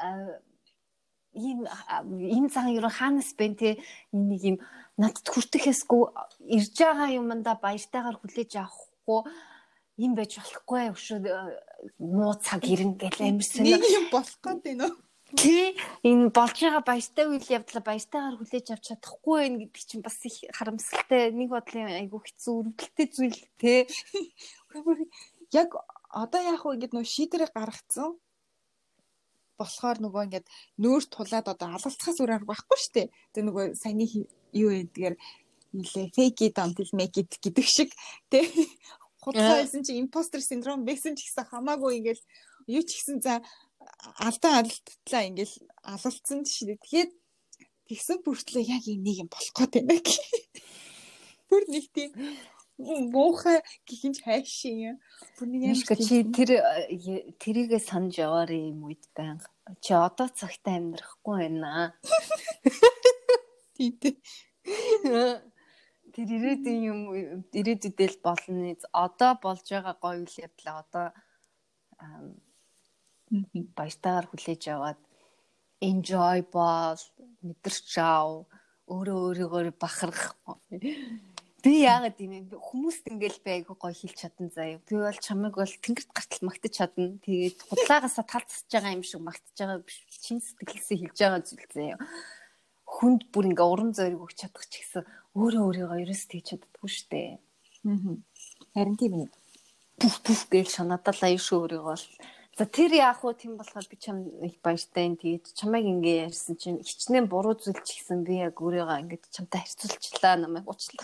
ийм ийм цаг юу хаанаас бэн те нэг юм надад хүртэхээсгүй ирж байгаа юмдаа баяртайгаар хүлээж авахгүй юм байж болохгүй өшөө муу цаг ирнэ гэл амир сонир нэг юм болох гээд байна уу? Тий энэ болж байгаа баяртай үйл явдлаа баяртайгаар хүлээж авч чадахгүй байх гэдэг чинь бас их харамсалтай нэг бодлын айгүй хэцүү өрөвдөлттэй зүйл те. Яг одоо яг уу ингэж нөө шийдвэрээ гаргацсан болохоор нөгөө ингэж нөөр тулаад одоо алгалцахаас өөр арга байхгүй шүү дээ. Тэгээ нөгөө саяны юу гэдгээр нэлээ fake it until make it гэдэг шиг тий. Худлаа хэлсэн чи imposter syndrome байсан ч гэсэн хамаагүй ингэж юу ч гэсэн за алдаа алдтлаа ингэж алгалцсан шүү дээ. Тэгээд тэгсэн бүртлээ яг энийг юм болох гээд байна гэх. Бүр нэг тийм муухай гихинж хайшин юм. Бүр нэг юм чи тэр тэрийгээ санаж яваарэ юм үед байнга. Чи одоо цагтаа амьдрахгүй байна. Тийм. Тэр ирээдүйн юм ирээдүйдэл болно. Одоо болж байгаа гоё үйл явдлаа одоо баяртайгаар хүлээж аваад enjoy бол мэдэрч ав өөрөө өөрийгөө бахарах. Би яагаад юм хүмүүст ингээл байг гоё хэлж чадан заяа. Би бол чамайг бол тэнгэрт гартал магтаж чадна. Тэгээд худлаагаасаа талцсаж байгаа юм шиг магтаж байгаа биш. Чин сэтгэлээсээ хэлж байгаа зүйл заяа. Хүнд бүр ингээ урам зориг өгч чадах ч гэсэн өөрөө өөрийгөө ерөөс тэгж чаддаггүй штэ. Аа. Харин тийм ээ. Пүф пүф гэж санаатал аюу шүү өөрийгөө бол. За тэр яах вэ тийм болохоор би чам их баяртай юм. Тэгээд чамайг ингээ ярьсан чинь хичнээн буруу зүйл ч гэсэн би яг өөрийгөө ингээ чамтай харьцуулчлаа намайг уучлаа.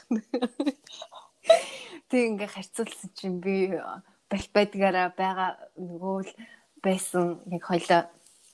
Тэг ингээ харьцуулсан чинь би бал байдгаараа байгаа нөгөө л байсан яг хоёлаа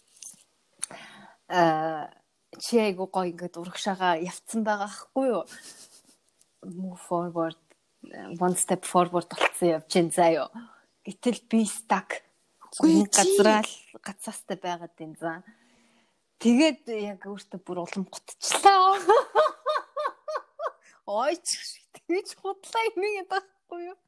а чи айгу гоё ингээд урагшаага явцсан байгаа хгүй юу? Move forward, one step forward болцсон явж гин заяа. Гэтэл би stuck. Үгүй газраа гацаастай байгаад байна за. Тэгээд яг өөртөө бүр улам гутчлаа. Ойч тэгж худлаа юм яа. байхгүй юу?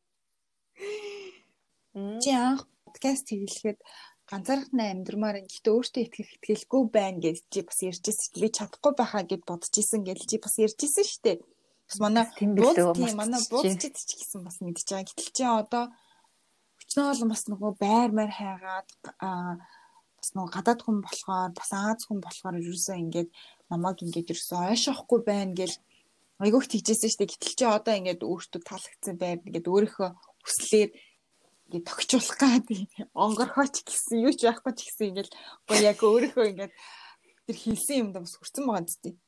Чи анх подкаст хийлгэхэд ганцаархан амьдрмаар гэхдээ өөртөө итгэх итгэлгүй байна гэж чи бас ярьжсэн чи би чадахгүй байхаа гэд бодож исэн гэж чи бас ярьжсэн шүү дээ. Бас манай бууз тийм манай бууз ч гэсэн бас мэдчихэж байгаа. Гэтэл чи одоо өчнөө олон бас нөгөө байр маяр хайгаад аа бас нөгөө гадаад хүн болохоор бас Аз хүн болохоор ерөөсөө ингээд намайг ингээд ерөөсөө ойшоохгүй байна гэл айгүйх тэгжсэн шүү дээ. Гэтэл чи одоо ингээд өөртөө таалагдсан байр ингээд өөрийнхөө хүслээр ингээд тогтчулах гэдэг онгорхооч гэсэн юу ч байхгүй ч гэсэн ингээд гоо яг өөрийнхөө ингээд тэр хийсэн юмдаа бас хүрсэн байгаа зү тийм.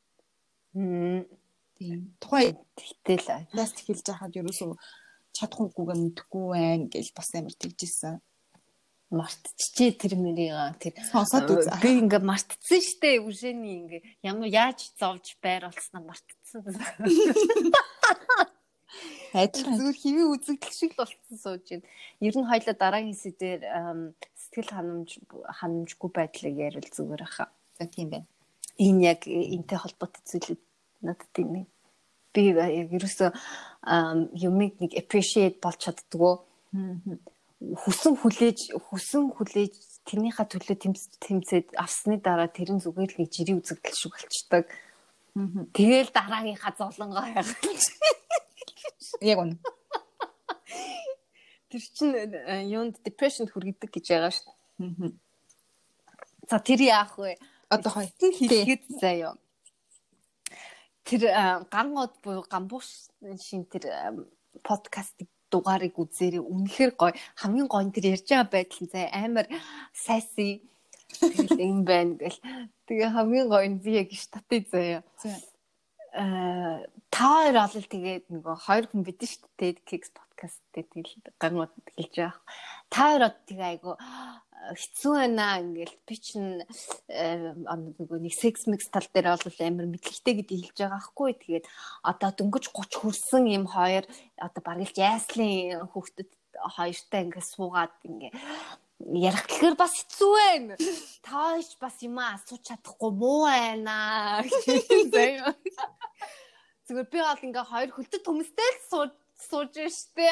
Тийм. Тухайн тэгтэл подкаст хэлж байхад ерөөсөө чадахгүйгээ мэдэхгүй байна гэж бас амар тэгжсэн. Мартчихжээ тэр мэрийг тэр сонсоод үз. Би ингээ мартцсан штэ үжэний ингээ ямар яаж зовж байр болсноо мартцсан. Адилхан зүгээр хэвээ үзэгдэл шиг л болцсон сууж байна. Ер нь хоёлаа дараагийн сэдвээр сэтгэл ханамж ханамжгүй байдлыг ярил зүгээр хаа. За тийм байна. Энэ яг энтэй холбоотой зүйлүүд надад тийм. Би яг ерөөсөө юмыг нэг appreciate болж чаддгүй. Хүсэн хүлээж хүсэн хүлээж тэрнийхээ төлөө тэмцээд авсны дараа тэр нь зүгээр л нэг жирийн үзэгдэл шиг болчдаг. Тэгэл дараагийнхаа золонгоо хайгаж. Яг үнэ. Тэр чинь юунд depression хүргэдэг гэж байгаа шүү дээ. За тэр яах вэ? Одоо хой хэлэхэд заяа. Тэр гангод буюу гамбууш шин тэр подкастыг дугаарыг үзээрэй. Үнэхээр гоё. Хамгийн гоё нь тэр ярьж байгаа байдал зай амар сайси тэгэл юм байна гэл. Тэгээ хамгийн гоё нь би яг штатыг заяа. Аа та хоёр олол тэгээд нөгөө хоёр хүн бид нь шүү дээ Kicks podcast дээр тэгэл гангууд хэлж байгаа. Та хоёр од тэгээ айгу хэцүү байна ингээл би чинь нөгөө нэг sex mix тал дээр бол амар мэдлэгтэй гэдгийг хэлж байгаа байхгүй. Тэгээд одоо дөнгөж гуч хүрсэн юм хоёр одоо бараг л яслын хүүхдэд хоёртай ингээд суугаад ингээ ярих гэхээр бас хэцүү байна. Та ч бас юм асууж чадахгүй муу байна. Зүгээр би бол ингээ хоёр хөлтөд хүмүүстэй л сууж сууж штэ.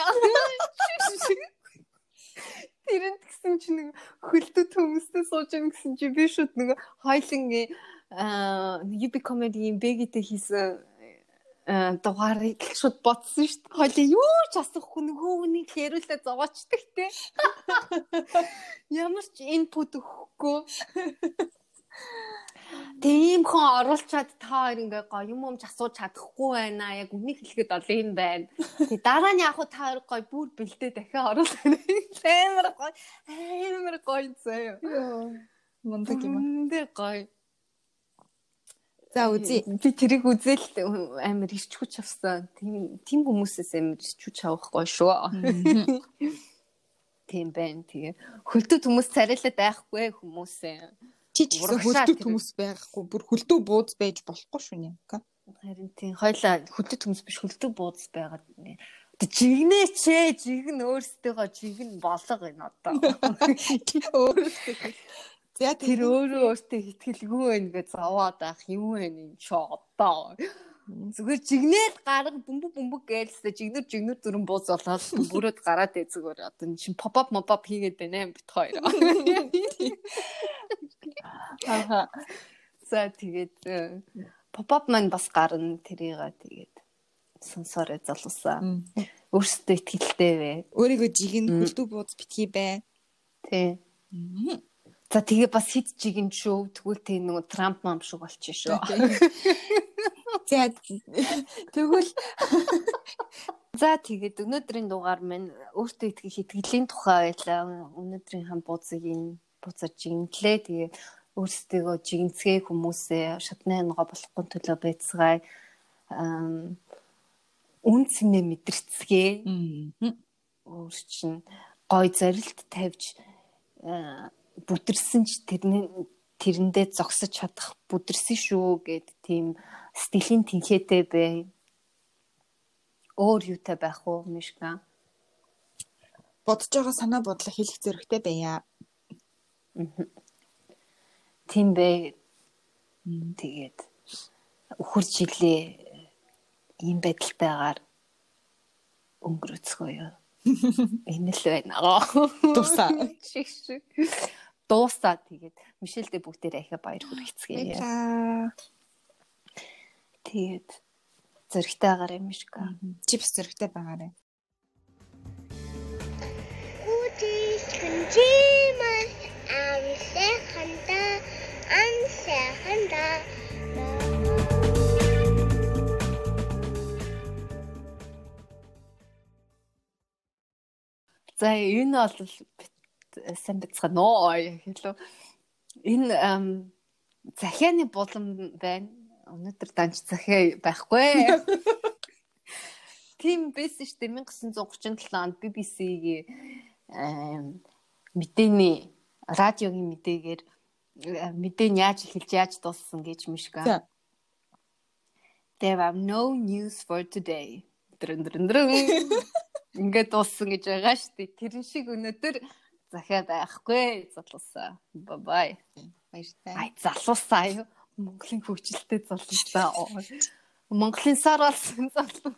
Тэрэнд гэсэн чинь нэг хөлтөд хүмүүстэй сууж ийн гэсэн чи би шууд нэг хоёлын аа юби комедигийн бэгитэй хийсэн дугаарыг шууд бодсон шүү дээ. Хоёлаа юу ч асуухгүй нөгөө хүнийг яриулаа зовоочдаг те. Ямар ч инпут өгөхгүй. Тийм хон оруулчаад та хоёр ингээ гоё юм юмч асууж чадахгүй байна. Яг үнийг хэлэхэд ол юм байна. Тэгээ дараа нь яг хуу та хоёр гоё бүр бэлдээ дахиад оруулах. Амар гоё. Амар гоё заяа. Йоо. Мундаг юм. Мундаг гоё. За үзье. Би тэрийг үзэл амар ирч хүч авсан. Тийм тийм хүмүүсээс амар ирч хүч авах гоё шүү. Тийм байна. Тэгээ хөлтөд хүмүүс царайлаад байхгүй хүмүүсээ. Чи ч гэсэн хөлтөд хүмүүс байхгүй. Бүр хөлтөө бууз байж болохгүй шүү нэ. Харин тийм хоёлаа хөлтөд хүмүүс биш хөлтөө бууз байгаад нэ. Жигнэч ээ, жигэн өөрсдөө жигэн болго энэ одоо. Өөрсдөө За тэр өөрөө өөртөө хэтгэлгүй байх гэж зовоод байх юм вэ энэ ч одоо. Зүгээр жигнээл гарга бөмбөг бөмбөг гэлсээ жигнэр жигнэр дүрэн бууз болоод бүрөөд гараад ээ зүгээр одоо энэ чинь pop up mop up хийгээд байна бит хоёр. Аха. За тэгээд pop up маань бас гарна тэрийгээ тэгээд сонсороо залуусаа. Өөрсдөө ихтгэлтэй вэ. Өөрийгөө жигэн хөлтөө бууз битгий бай. Тий. За тэгээ бас хит жигэн шүү. Тэгвэл тэг нэг Трамп мам шиг болчих шүү. За тэгвэл за тэгээд өнөөдрийн дугаар маань өөртөө итгэх итгэлийн тухай байлаа. Өнөөдрийн хам бууцгийн буцаж жигнэлээ. Тэгээ өөрсдөө жигнэцгээ хүмүүсээ шатны хангаа болохгүй төлөө байцгаая. Аа үнцнээ мэдэрцгээ. Өөр чинь гой зорилт тавьж бүдэрсэн ч тэрний тэрэндээ зогсож чадах бүдэрсэн шүү гэд тийм стилийн тэнхээтэй бай. Өөр юутай байх уу Мишка? Бодож байгаа санаа бодлоо хэлэх зөрөгтэй байя. Тийм бай. Тэгээд өхөр жилээ ийм байдалтайгаар өнгөрөөцгөөё. Энэ л байна. Дуусаа. Дуусаа тэгээд Мишельдээ бүгдээрээ ахиа баяр хүргэцгээе. Тэгээд зөрөгтэй байгаарай Мишка. Чи бас зөрөгтэй байгаарай. Үдис хэнжимэн амсаханда амсаханда За энэ бол сайн бацгаана уу хэлв. Энэ захианы булан байна. Өнөөдөр данч захиа байхгүй. Тийм байсан шүү дээ. 천구 гурван седем онд би би си-ийн мэдээний радиогийн мэдээгээр мэдээ нь яаж эхэлж яаж дууссан гэж Мишка. There are no news for today. Дрэн дрэн дрэн. Ингээд дууссан гэж байгаа шүү дээ. Тэрэн шиг өнөөдөр захиа байхгүй. Залуусаа. Bye bye. Баяртай. Ай залуусаа юу? Монголын хөгжилтэй залуусаа. Монголын сар болсон залуу.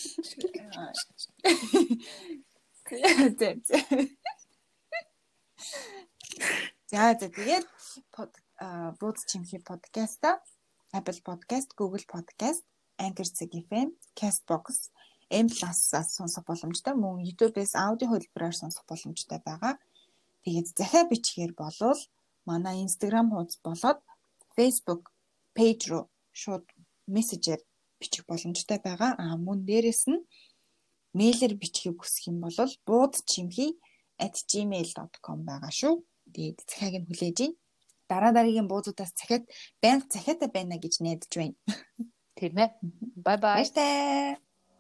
За за тэгээд бууз чимхи подкаста Apple Podcast, Google Podcast, Anchor эф эм, Castbox, M Plus-аас сонсох боломжтой, мөн YouTube-ээс аудио хөлбөрөөр сонсох боломжтой байгаа. Тэгээд захиа бичгээр болвол манай Instagram хуудас болоод Facebook page руу шууд мессежээр бичих боломжтой байгаа. Аа мөн дээрэс нь мэйлэр бичгийг хүсэх юм бол буудчимхи at gmail dot com байгаа шүү. Тэгээд захиаг нь хүлээж ийн. Дараа дараагийн буудуудаас захиад байнга захиатай байна гэж найдаж байна. Тийм ээ. Bye bye. Баяртай.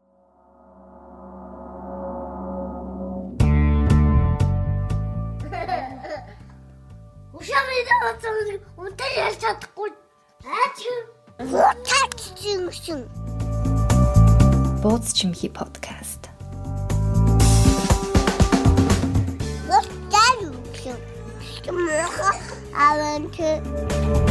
Ушаамын үнтэй ярьж чадахгүй. Аач юу? Тагчсан. Бууз чимхи подкаст. Вот так. I want to